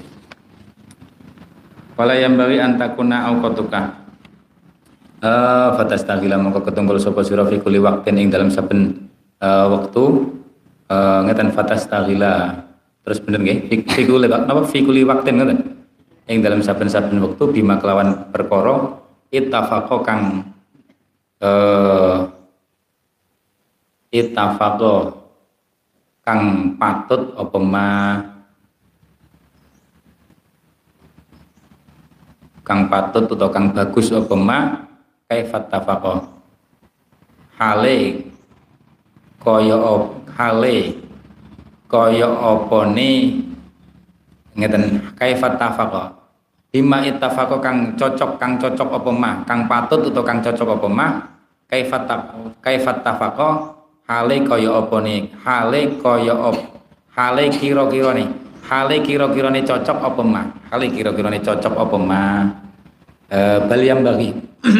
wala yang bagi antakuna auqatuka eh fatastaghila mongko ketunggul sapa sira fi kulli waqtin ing dalam saben uh, waktu uh, ngeten fatastaghila terus bener nggih fi kulli napa fi kulli waqtin ngoten ing dalam saben-saben waktu bima kelawan perkara ittafaqo kang eh ittafaqo kang patut apa ma kang patut atau kang bagus apa ma kaifat tafaqo hale kaya hale kaya apane ngeten kaifat tafaqo bima ittafaqo kang cocok kang cocok apa mah kang patut utawa kang cocok apa mah kaifat kaifat tafaqo hale kaya apa ne hale kaya op hale kira-kira ne hale kira-kirane cocok apa mah hale kira-kirane cocok apa mah eh bal yang bagi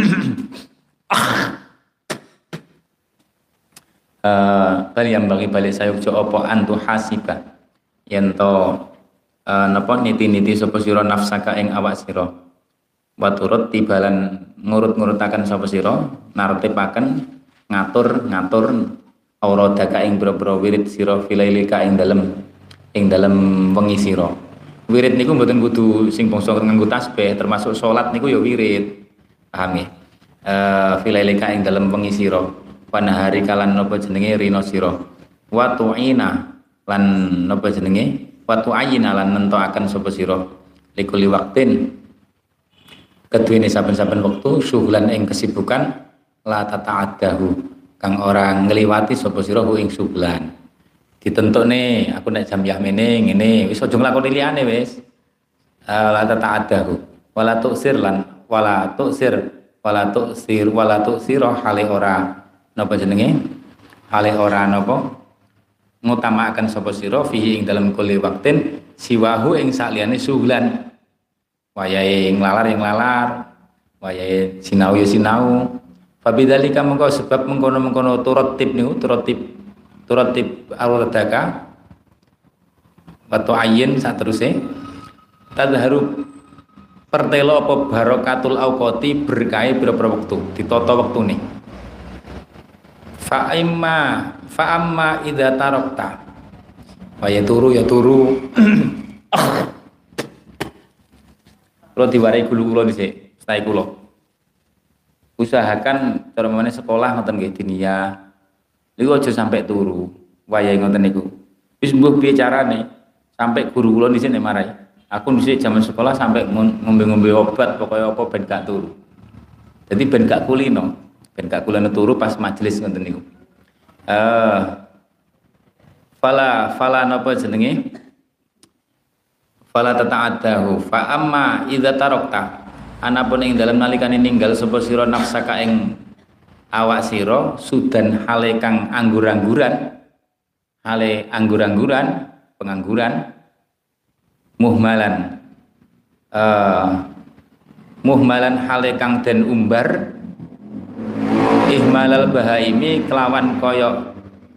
eh bal yang bagi balik sayukjo apa antu hasiba yen to Uh, napa niti-niti sapa sira nafsaka ing awak sira wa turut tibalan ngurut-ngurutaken sapa sira nartipaken ngatur-ngatur auradaka ing boro-boro wirid sira filailika ing dalem ing dalem wengi sira. Wirid niku mboten kudu sing bangsa nganggo tasbih, termasuk salat niku ya wirid. Paham nggih? Eh filailika ing dalem wengi sira panahari kalan napa jenenge rina sira wa tu'ina lan napa jenenge watu ayina lan nentokaken sapa sira likuli waktin keduwene saben-saben wektu syughlan ing kesibukan la tata'addahu kang ora ngliwati sapa sira ing syughlan ditentukne aku nek jam yah mene ngene wis aja nglakoni liyane wis la tata'addahu wala tu'sir lan wala tu'sir wala tu'sir wala tu'sira hale ora napa jenenge hale ora napa ngutamakan sapa sira fihi ing dalam kulli waktin siwahu ing saliyane suhlan wayahe nglalar ing lalar wayahe sinau ya sinau fabidzalika mengko sebab mengkono-mengkono turatib niku turatib turatib al-radaka wa tu'ayyin sateruse tadharu pertelo apa barakatul auqati berkahe pira-pira wektu ditata wektune fa imma fa amma idza tarakta wa ya turu ya turu kalau diwarai gulu kula dhisik stay kula usahakan cara meneh sekolah ngoten nggih dinia niku aja sampai turu wayahe ngoten niku wis mbuh piye carane sampai guru kula dhisik nek marai aku dhisik zaman sekolah sampai ngombe-ngombe obat pokoknya apa ben gak turu jadi ben gak kulino ben gak kulino turu pas majelis ngoten niku Uh, fala fala napa jenenge fala tata'addahu fa amma idza tarakta anapun ing dalam nalikane ninggal sapa sira nafsaka ing awak sira sudan hale kang anggur-angguran hale anggur-angguran pengangguran muhmalan uh, muhmalan hale kang den umbar ihmalal bahaimi kelawan kaya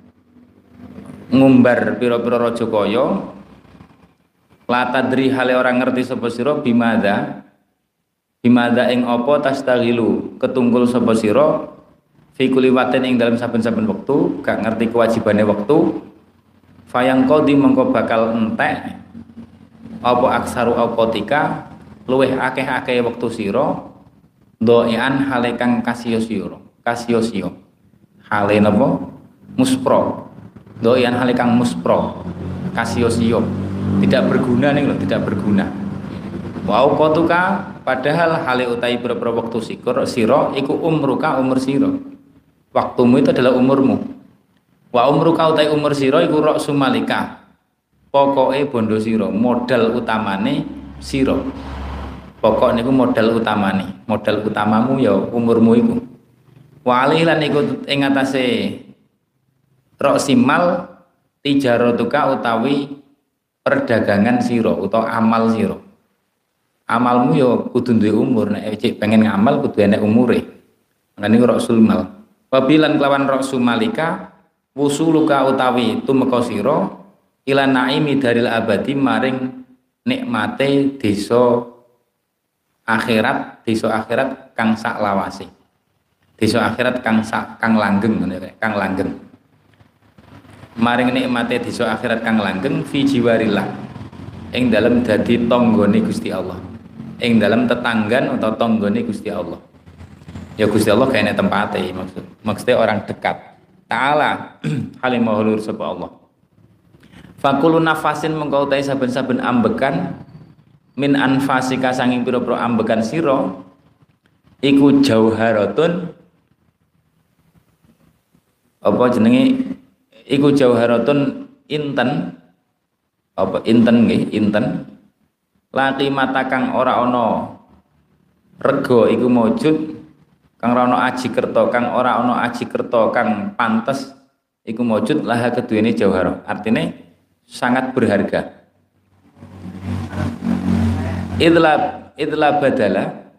ngumbar pira-pira raja kaya latadri hale orang ngerti sapa sira bimada bimada ing apa tastaghilu ketunggul sapa sira fi kulli watin ing dalam saben-saben wektu gak ngerti kewajibane wektu fayang qadi mengko bakal entek apa aksaru auqatika luweh akeh-akeh wektu sira doian hale kang kasio-sira kasio-sio hale napa muspro doian hale kang muspro kasio-sio tidak berguna nih loh tidak berguna wa auqatuka padahal hale utai pira-pira wektu sikor sira iku umruka umur sira waktumu itu adalah umurmu wa umruka utai umur sira iku rok sumalika pokoke bondo sira modal utamane sira pokok niku modal utamane modal utamamu ya umurmu iku wa alilan iku ing atase rok simal tijaratuka utawi perdagangan sira utawa amal sira amalmu ya kudu duwe umur nek cek pengen ngamal kudu enek umure ngene niku rok sumal wabilan kelawan rok sumalika wusuluka utawi tumeka sira ila naimi daril abadi maring nikmate desa akhirat desa akhirat kang sak lawase desa akhirat kang sak kang langgeng ngene kang langgeng maring nikmate desa akhirat kang langgeng fi jiwarillah ing dalem dadi tanggane Gusti Allah ing dalem tetanggan atau tanggane Gusti Allah ya Gusti Allah kaya nek tempate maksud maksudnya orang dekat taala halimah hulur sapa Allah fakulu nafasin mengkau tai saben-saben ambekan min anfasika sanging pira-pira ambekan sira iku jauharatun apa jenenge iku jauharatun inten apa inten nggih inten laki mata kang ora ana rega iku maujud kang ora ana aji kerta kang ora ana aji kerta kang pantes iku maujud laha keduwene jauhara artine sangat berharga idlab idlab badala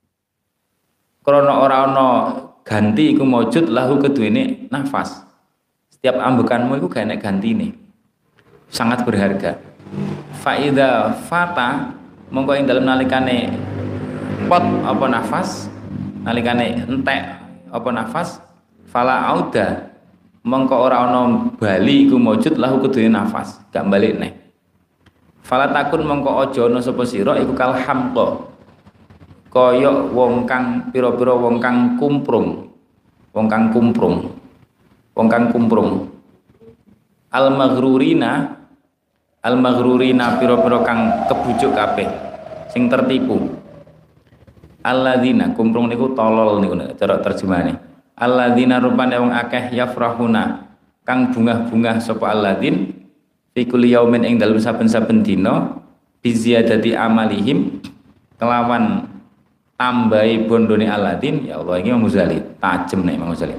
krana ora ana ganti iku maujud lahu keduwene nafas setiap ambekanmu iku gak enek gantine sangat berharga faida fata mongko ing dalem nalikane pot apa nafas nalikane entek apa nafas fala auda mongko ora ana bali iku maujud lahu keduwene nafas gak balik neh fala takun mongko aja ana sapa sira iku kal hamqa kaya wong kang pira-pira wong kang kumprung wong kang kumprung wong kang kumprung al maghrurina al maghrurina pira-pira kang kebujuk kabeh sing tertipu alladzina kumprung niku tolol niku cara terjemahane alladzina rupane wong akeh yafrahuna kang bungah-bungah sapa alladzin fi kulli yaumin ing dalem saben-saben dina bi ziyadati amalihim kelawan tambahi bondone alladzin ya Allah iki Imam Ghazali tajem nek Imam Ghazali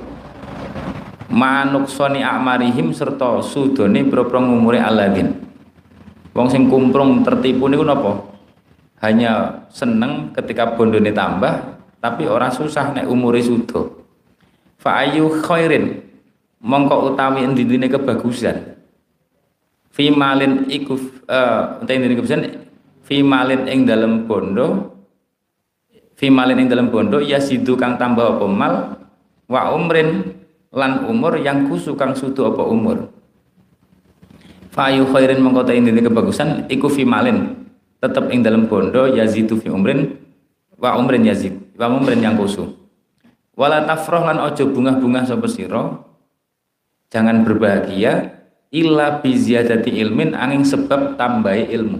manuksoni amarihim serta sudone pira-pira umure alladzin wong sing kumprung tertipu niku napa hanya seneng ketika bondone tambah tapi ora susah nek umure sudo fa ayu khairin mongko utawi endi-endine kebagusan fi malin iku uh, utawi endi-endine kebagusan fi malin ing dalem bondo fi malin ing dalem bondo ya sidu kang tambah apa mal wa umrin lan umur yang kusu kang sudu apa umur fa ayu khairin mongko utawi endi-endine kebagusan iku fi malin tetap ing dalam bondo yazidu fi umrin wa umrin yazid wa umrin yang kusu wala tafrah lan ojo bungah-bungah sapa sira jangan berbahagia illa bi ziyadati ilmin angin sebab tambahi ilmu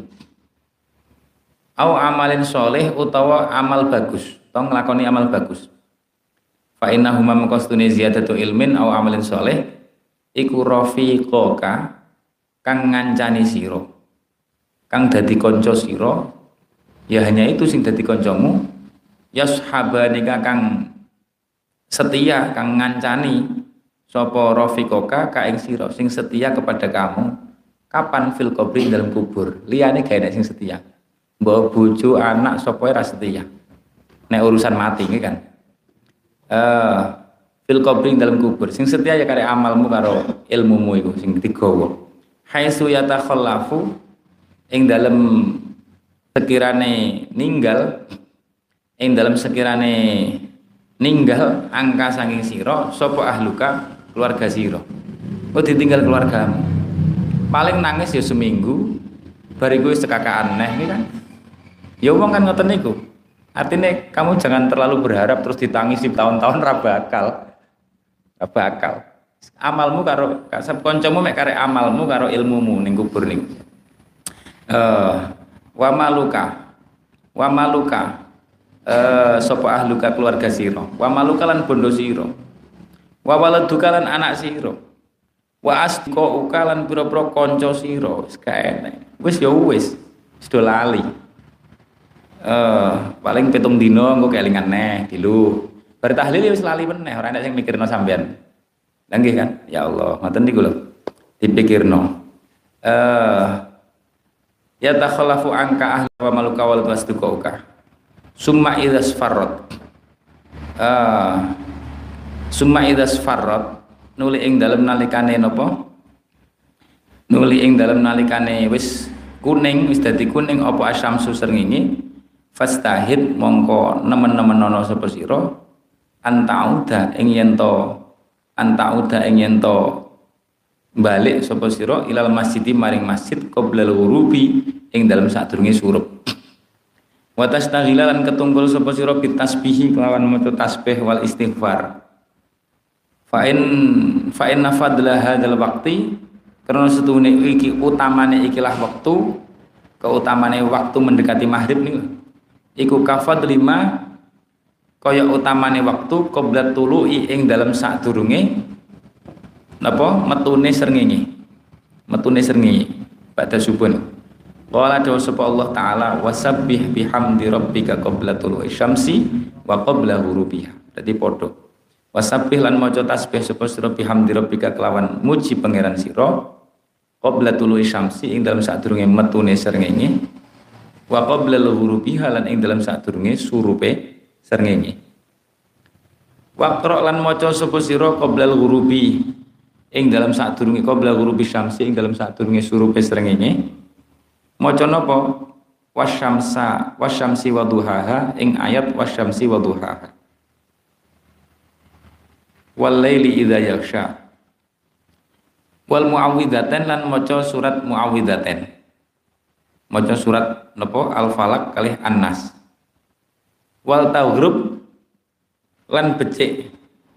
au amalin soleh utawa amal bagus atau nglakoni amal bagus fa innahuma maqastune ziyadatu ilmin au amalin soleh iku rafiqaka kang ngancani sira kang dadi kanca sira ya hanya itu sing dadi kancamu yashabani kang setia kang ngancani sapa rafiqoka ka ing sira sing setia kepada kamu kapan fil qabri dalam kubur liyane gawe nek sing setia mbok bojo anak sapa ora setia nek urusan mati iki kan eh fil qabri dalam kubur sing setia ya kare amalmu karo ilmumu iku sing digawa haitsu yatakhallafu ing dalam sekirane ninggal ing dalam sekirane ninggal angka saking sira sapa ahluka keluarga sira kok ditinggal keluargamu paling nangis ya seminggu bariku wis cekakaan neh iki kan ya wong kan ngoten niku artinya kamu jangan terlalu berharap terus ditangisi tahun-tahun ra bakal ra bakal amalmu karo kasep kancamu mek kare amalmu karo ilmumu ning kubur niku eh wa maluka wa maluka Uh, sapa ahluka keluarga sira wa maluka lan bondo sira wa waladuka lan anak sira wa asqauka lan pira-pira kanca sira wis kaene wis ya wis wis do lali uh, paling pitung dina engko kelingan neh dilu bar tahlil wis lali meneh ora enek sing mikirno sampean lha nggih kan ya Allah ngoten niku lho dipikirno eh uh, ya takhallafu angka ahli wa maluka wal wasduka summa idzas farrat uh, summa idzas farrat nuli ing dalem nalikane napa nuli ing dalem nalikane wis kuning wis dadi kuning apa asyamsu srengenge fastahid mongko nemen-nemen ana sapa sira antauda ing yen to antauda ing yen to balik sapa sira ilal masjidi maring masjid qoblal ghurubi ing dalem sadurunge surup wa tastaghila lan ketunggul sapa sira bitasbihi kelawan maca tasbih wal istighfar fa in fa inna fadla hadzal waqti karena setune iki utamane ikilah waktu keutamane waktu mendekati maghrib niku iku kafad lima kaya utamane waktu qoblat tulu'i ing dalam sadurunge napa metune srengenge metune srengenge pada subuh. Qala dawu sapa Allah taala wasabbih bihamdi rabbika qabla tulu'i syamsi wa qabla ghurubiha. Dadi padha. Wasabbih lan maca tasbih sapa sira bihamdi rabbika kelawan muji pangeran sira qabla tulu'i syamsi ing dalam sadurunge metune srengenge wa qabla ghurubiha lan ing dalam sadurunge surupe srengenge. Waqra lan maca sapa sira qabla ghurubi ing dalam sadurunge qabla ghurubi syamsi ing dalam sadurunge surupe srengenge. Maca napa wasyamsa wasyamsi waduhaha ing ayat wasyamsi waduhaha wal laili idza yaghsha wal muawwidzatain lan maca surat muawwidzatain maca surat napa al falaq kalih an-nas wal taghrib lan becik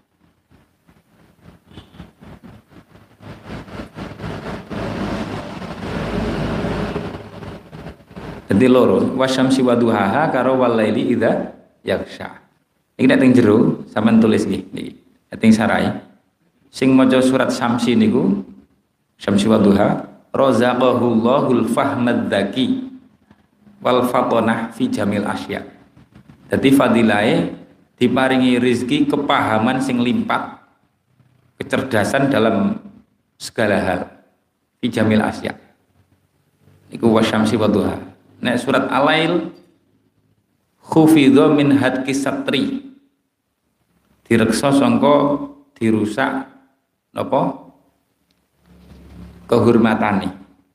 dadi loro wasyamsi waduhaha karo walaili idza yaghsha iki nek teng jero sampean tulis nggih niki teng sarai sing maca surat Syamsi niku Syamsi waduha razaqahullahul fahmadzaki wal fatonah fi jamil asya dadi fadilahe diparingi rezeki kepahaman sing limpah kecerdasan dalam segala hal fi jamil asya iku wasyamsi waduha. Nek surat Al-Lail khufidho min hadki satri direksa sangka dirusak napa kehormatane.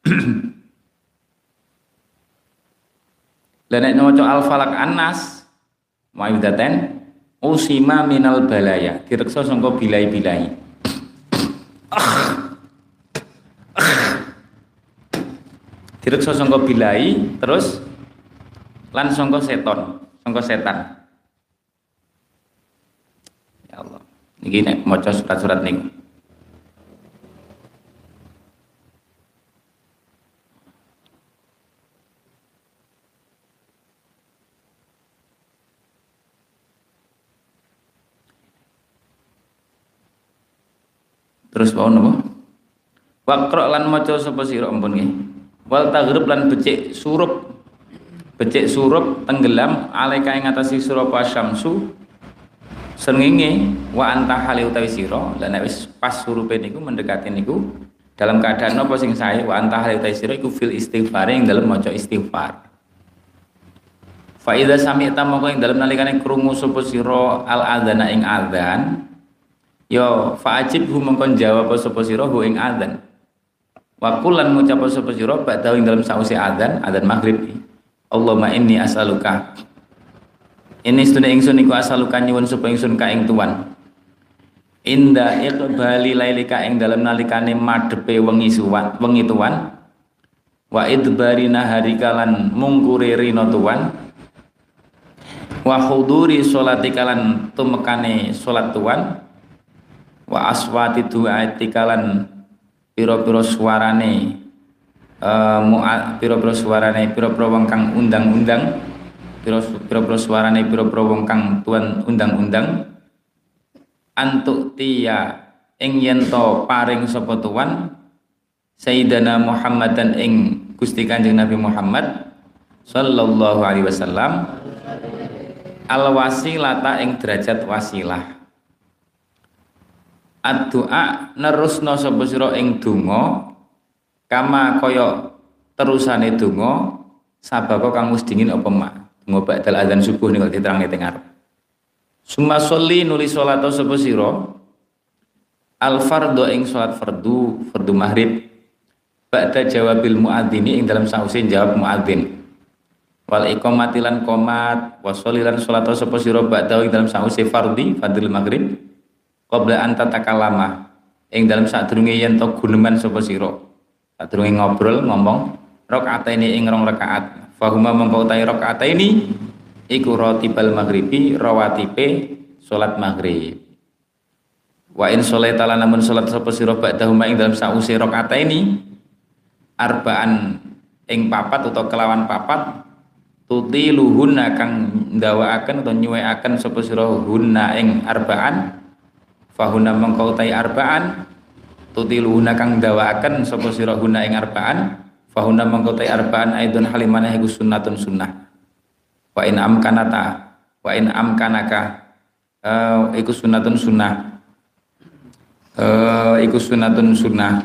Lah nek maca Al-Falaq An-Nas ma'idatan usima minal balaya direksa sangka bilai-bilai. Direksa sangka bilai terus lan sangka seton, sangka setan. Ya Allah. Niki nek maca surat-surat niku. Terus wau napa? Waqra lan maca sapa sira ampun nggih. Wal taghrib lan becik surup becik surup tenggelam alaika ing atase sira apa syamsu srengenge wa anta hale utawi sira lan nek wis pas surupe niku mendekati niku dalam keadaan apa sing sae wa anta hale utawi sira iku fil istighfar ing dalem maca istighfar. Fa idza sami'ta moko ing dalem nalikane krungu sapa sira al adzana ing adzan ya fa'ajib hu mongkon jawab sapa sira hu ing adzan wa kulan ngucap sapa sira ba'da ing dalem sause adzan adzan maghrib Allahumma inni as'aluka ini sedune ingsun iku as'aluka nyuwun sapa ingsun ka ing tuan inda iqbali lailika ing dalem nalikane madhepe wengi suwan wengi tuan wa idbari naharika lan mungkure rina tuan wa huduri sholati kalan tumekane salat tuan wa aswati du'ati kalan pira-pira suarane uh, pira-pira suarane pira-pira wong kang undang-undang pira-pira suarane pira-pira wong kang tuan undang-undang antuk tiya ing yen to paring sapa tuan Sayyidina Muhammadan ing Gusti Kanjeng Nabi Muhammad sallallahu alaihi wasallam al wasilata ing derajat wasilah ad-du'a nerusno sapa sira ing donga kama kaya terusane donga sabako kang wis dingin apa mak donga ba'dal adzan subuh niku diterangne teng ngarep summa sholli nuli salat sapa sira al fardhu ing salat fardu fardu maghrib ba'da jawabil muadzini ing dalam sause jawab muadzin wal iqamati lan qomat wa sholilan salat sapa sira ba'da ing dalam sause fardhi fardhil maghrib qabla an tatakallama ing dalam sadurunge yen to guneman sapa sira sadurunge ngobrol ngomong rakaataini ing rong rakaat fahuma mengko utahe rakaataini iku ratibal maghribi rawatibe salat maghrib wa in sholaita lan namun salat sapa sira ba'da huma ing dalam sause rakaataini arbaan ing papat utawa kelawan papat tutiluhunna kang ndawaaken utawa nyuwekaken sapa sira hunna ing arbaan fahuna mengko utahe arbaan tutiluhunna kang ndawaaken sapa sira hunna ing arbaan fahuna mengko utahe arbaan aidun halimane iku sunnatun sunnah wa in amkanata wa in amkanaka uh, iku sunnatun sunnah uh, iku sunnatun sunnah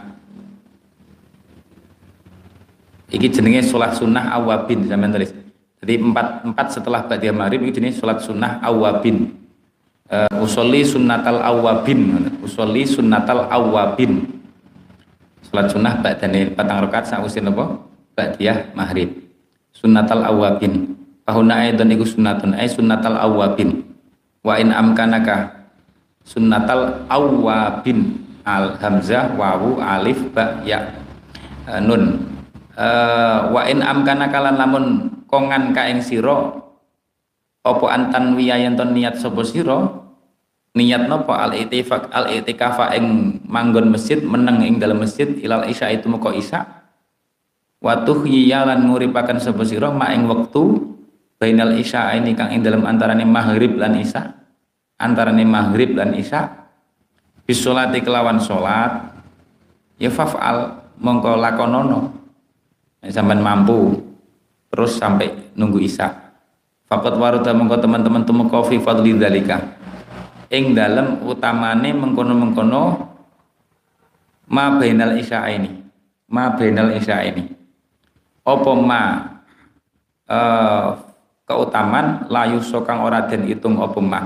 iki jenenge salat sunnah awabin sampeyan tulis. Jadi empat, empat setelah ba'da maghrib ini jenis sholat sunnah awabin uh, usolli sunnatal awabin usolli sunnatal awabin sholat sunnah ba'dane patang rakaat sausin apa ba'diyah maghrib sunnatal awabin fahuna aidon iku sunnatun ay sunnatal awabin wa in amkanaka sunnatal awabin al hamzah wawu alif ba ya uh, nun uh, wa in amkanaka lan lamun kongan ka ing sira apa antan wiyayen ton niat sapa sira niat napa al itifaq al itikafa ing manggon masjid meneng ing dalam masjid ilal isya itu moko isya wa tuhyiya lan nguripaken sapa sira ma ing wektu bainal isya ini kang ing dalam antarane maghrib lan isya antarane maghrib lan isya bisolati kelawan salat ya faf'al mongko lakonono nek sampean mampu terus sampai nunggu isya. Faqat waruda mengko teman-teman tumeka fi fadli dzalika. Ing dalem utamane mengkono-mengkono ma bainal isya ini. Ma bainal isya ini. Apa ma uh, keutamaan layu sokang ora den itung apa ma.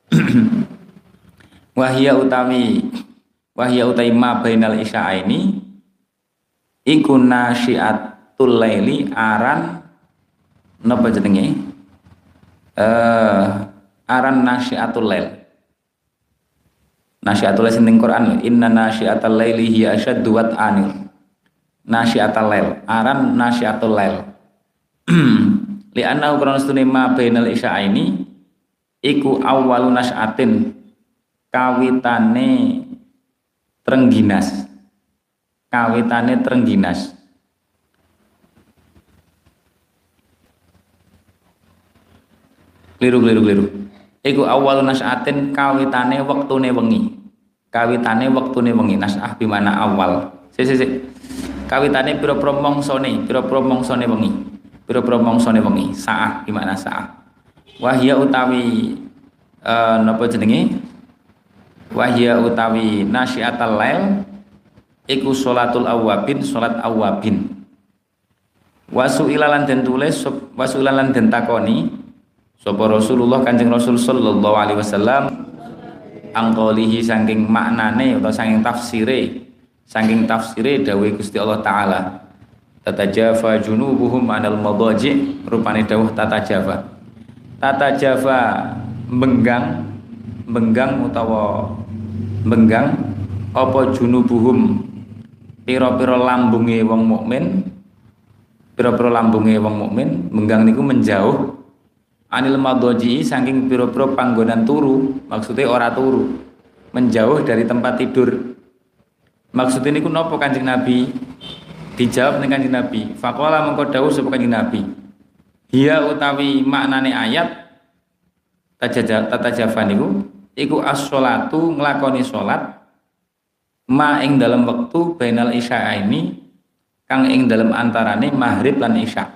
Wahya utawi wahya utawi ma bainal isya ini iku nasyiatul laili aran napa jenenge eh aran nasyiatul lail nasyiatul lail sing Quran inna nasyiatal laili hiya asyaddu wat'anil nasyiatul lail aran nasyiatul lail li annahu kana stune ma bainal isya'aini iku awwalu nasyatin kawitane trengginas kawitane trengginas Keliru keliru keliru. Iku awal nas'atin kawitane wektune wengi. Kawitane wektune wengi. Nas'ah bimana awal. Si si si. Kawitane pira-pira mongsone, pira-pira mongsone wengi. pira-pira mangsane wengi, saah gimana saah. Wahya utawi eh, napa jenenge? Wahya utawi nasyiatal lail iku sholatul awwabin, salat awwabin. Wasu ilalan den tulis, wasu ilalan den takoni sapa Rasulullah Kanjeng Rasul sallallahu alaihi wasallam angkolihi saking maknane atau saking tafsire, saking tafsire dawuh Gusti Allah taala. Tatajafa junubuhum anil madaji, rupane dawuh tatajafa. Tatajafa benggang, benggang utawa benggang apa junubuhum pira-pira lambunge wong mukmin, pira-pira lambunge wong mukmin, benggang niku menjauh anil madaji saking pira-pira panggonan turu, maksudnya ora turu, menjauh dari tempat tidur. Maksudnya niku napa Kanjeng Nabi? Dijawab ning Kanjeng Nabi, faqala mengko dawuh sapa Kanjeng Nabi, hiya utawi maknane ayat tatajafa niku iku as-sholatu nglakoni salat ma ing dalam wektu bainal isya ini kang ing dalam antarane maghrib lan isya.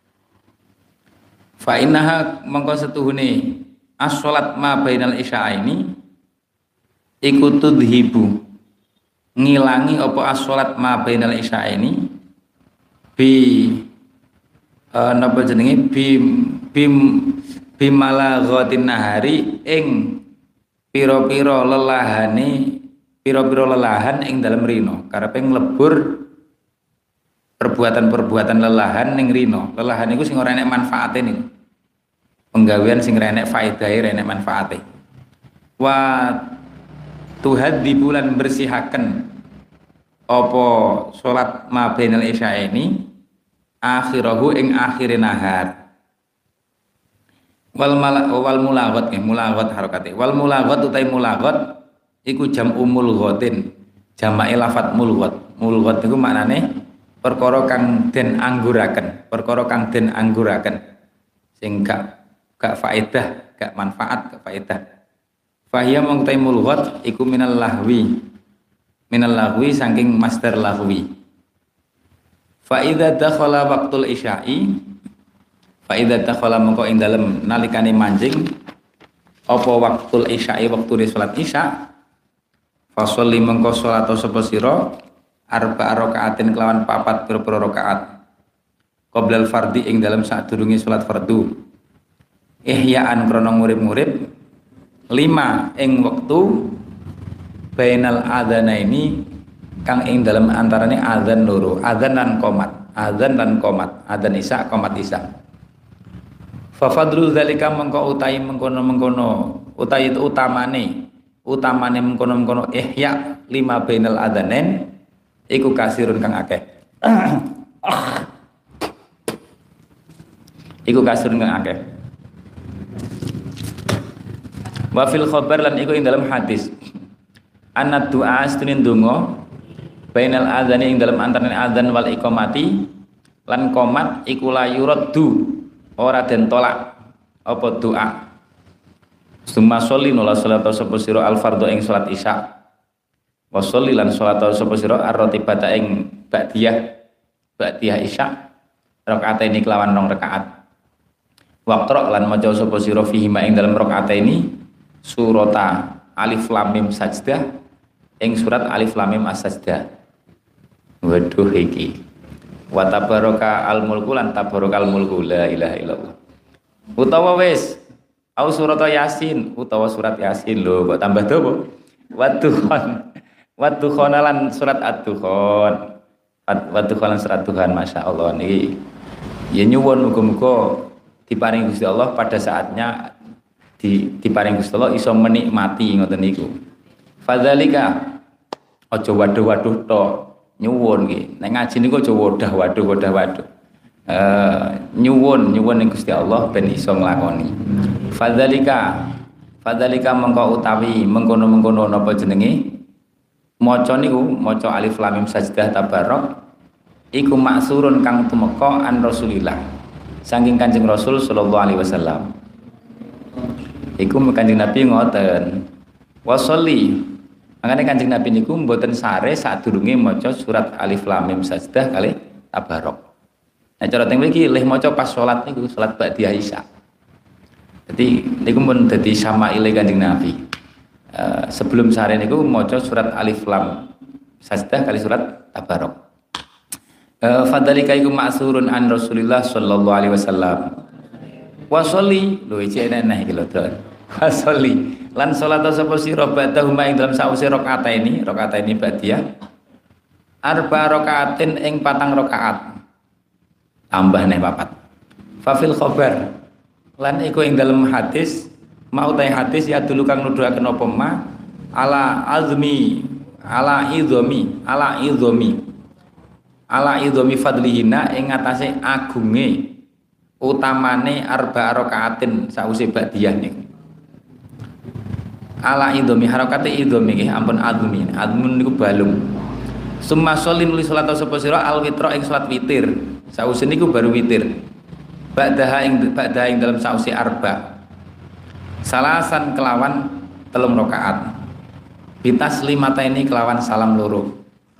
Fa innaha mengko setuhune as-sholat ma bainal isya ini iku tudhibu ngilangi apa as-sholat ma bainal isya ini bi Uh, napa jenenge bim bim bimalaghatin nahari ing pira-pira lelahane pira-pira lelahan ing dalem rino, karepe nglebur perbuatan-perbuatan lelahan ning rino. Lelahan niku sing ora enek manfaate niku. Penggawean sing ora enek faedahe, ora enek manfaate. Wa tuhaddi bulan bersihaken apa salat ma bainal isya ini akhirahu ing akhire nahar. Wal mala wal mulaghat nggih mulaghat harokate. Wal mulaghat utai mulaghat iku jam'u mulghatin. Jamake lafat mulghat. Mulghat niku maknane perkara kang den angguraken, perkara kang den angguraken. Sing gak gak faedah, gak manfaat, gak faedah. Fahiya mung utai mulghat iku minal lahwi. Minal lahwi saking master lahwi. Fa idza dakhala waqtul isya'i fa idza dakhala mengko ing dalem nalikane manjing apa waqtul isya'i wektu salat isya fa sholli mengko salat sapa sira arba rakaatin kelawan papat pira-pira rakaat qoblal fardhi ing dalem sadurunge salat fardu ihya'an krana ngurip-ngurip lima ing wektu bainal adzanaini kang ing dalam antarane azan loro, azan lan qomat, azan lan qomat, azan isya, qomat isya. Fa fadlu zalika mengko utahi mengkono-mengkono, utahi utamane, utamane mengkono-mengkono ihya lima bainal adzanain iku kasirun kang akeh. Iku kasirun kang akeh. Wa fil khabar lan iku ing dalam hadis. Anad du'a astunin donga bainal adzani ing dalam antarané adzan wal iqamati lan qomat iku la yuraddu ora den tolak apa doa. Summa sholli nula salat sapa sira al fardhu ing salat isya. Wa sholli lan salat sapa sira ar-ratibata ing ba'diyah ba'diyah isya rakaataini kelawan rong rakaat. Waqra lan maca sapa sira fihi ma ing dalam rakaataini surata alif lam mim sajdah ing surat alif lam mim as-sajdah. Waduh iki wa tabaraka al mulku lan tabarakal mulku la ilaha illallah. Utawa wis au surat yasin utawa surat yasin lho kok tambah dawa. Wadduhan wadduhan lan surat ad-dukhan. Wadduhan lan surat Tuhan masyaallah niki. Ya nyuwun muga-muga diparingi Gusti Allah pada saatnya di diparingi Gusti Allah iso menikmati ngoten niku. Fadzalika aja waduh-waduh tok nyuwun nggih. Nek ngaji niku aja wadah waduh wadah waduh. Eh nyuwun nyuwun ning Gusti Allah ben iso nglakoni. Fadzalika fadzalika mengko utawi mengkono-mengkono napa jenenge? Maca niku maca alif lam mim sajdah tabarok iku maksurun kang tumeka an Rasulillah. Saking Kanjeng Rasul sallallahu alaihi wasallam. Iku Kanjeng Nabi ngoten. Wa sholli makanya Kanjeng Nabi niku mboten sare sadurunge maca surat alif lam mim sajdah kali tabarok. Nek cara teng mriki lih maca pas salat niku salat ba'diyah Isya. Jadi niku pun dadi syama'ile Kanjeng Nabi. Uh, sebelum sehari niku maca surat Alif Lam Sajdah kali surat Tabarok. Uh, Fadzalika iku ma'surun an Rasulillah sallallahu alaihi wasallam. Wa sholli lho iki enak iki lho, Don. Wa sholli lan salat sapa sira ba'dahuma ing dalam sause rakaataini, rakaataini ba'diyah. Arba rakaatin ing patang rakaat. Tambah neh papat. Fafil khobar lan iku ing dalam hadis mau ta hadis ya dulu kang nuduhaken apa ma ala azmi ala idzomi ala idzomi ala idzomi fadlihina ing ngatasé agunge utamane arba rakaatin sause ba'diyah niku. Ala idzomi harakate idzomi nggih ampun azmi azmun niku balung. Summa sholli nuli salat sapa sira al witra ing salat witir. Sause niku baru witir. Ba'daha ing ba'daha ing dalam sause arba. Salasan kelawan telung rakaat. Bitas limata ini kelawan salam loro.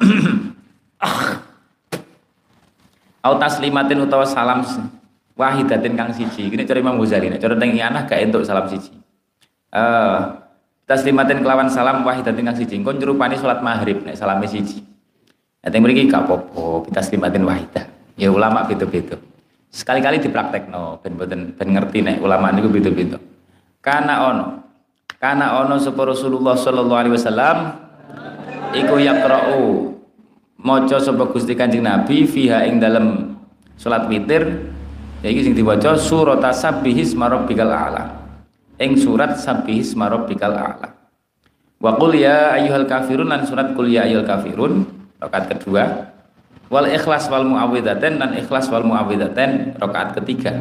Au taslimatin utawa salam wahidatin kang siji. Ini cara Imam Ghazali. Nek cara teng anak gak entuk salam siji. Eh uh, taslimatin kelawan salam wahidatin kang siji. Engko nyerupani salat maghrib nek salame siji. Nek teng mriki gak apa-apa, bitaslimatin wahidah. Ya ulama beda-beda. Sekali-kali dipraktekno ben mboten ben ngerti nek ulama niku beda-beda. Kana ono kana ono sapa Rasulullah sallallahu alaihi wasallam iku yaqra'u maca sapa Gusti Kanjeng Nabi fiha ing dalem salat witir ya iki sing diwaca surat Sabbihis marabbikal a'la ing surat Sabbihis marabbikal a'la wa qul ya ayyuhal kafirun lan surat qul ya ayyuhal kafirun rakaat kedua wal ikhlas wal muawwidzatain dan ikhlas wal muawwidzatain rakaat ketiga.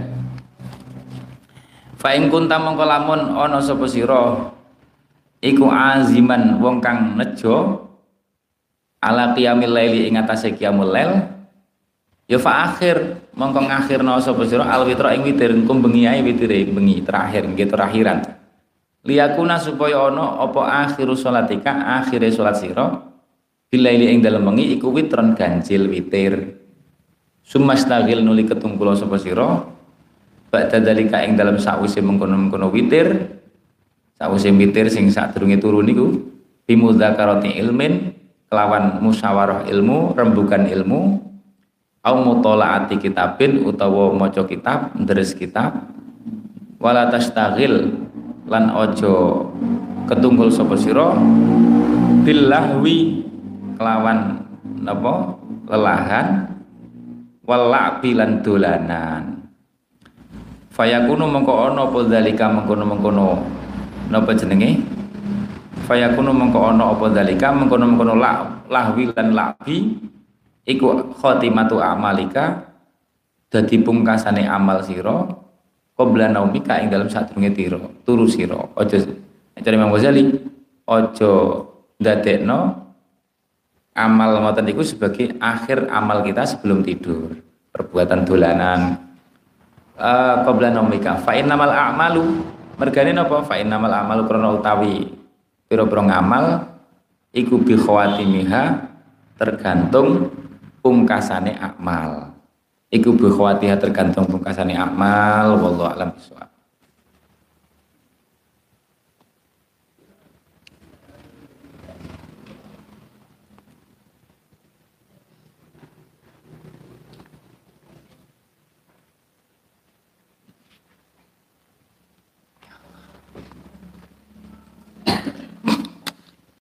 Fa in kunta mongko lamun ana sapa sira iku aziman wong kang nejo ala qiyamil laili ing atase qiyamul lail ya fa akhir mongko ngakhirna sapa sira al witra ing witir engko bengi ae witire bengi terakhir nggih terakhiran liyakuna supaya ana apa akhiru salatika akhire salat sira bilaili ing dalem wengi iku witron ganjil witir sumastagil nuli ketungkula sapa sira ba'da dalika ing dalem sakwise mengkono-mengkono witir sakwise witir sing sadurunge turu niku bimudzakarati ilmin kelawan musyawarah ilmu rembugan ilmu au mutolaati kitabin utawa maca kitab ndres kitab wala tastaghil lan ojo ketunggul sapa sira billahwi kelawan napa lelahan wala'bi lan dolanan fayakunu mengko ana apa zalika mengkono-mengkono napa jenenge fayakunu mengko ana apa zalika mengkono-mengkono lahwi lan la'bi iku khotimatu amalika dadi pungkasane amal sira qabla naumika ing dalem sadurunge tira turu sira aja cari Imam Ghazali aja ndadekno amal ngoten niku sebagai akhir amal kita sebelum tidur. Perbuatan dolanan uh, qabla naumika fa innamal a'malu mergane napa fa innamal a'malu krana utawi pira-pira ngamal iku bi khawatimiha tergantung pungkasane amal. Iku bi khawatiha tergantung pungkasane amal wallahu a'lam bishawab.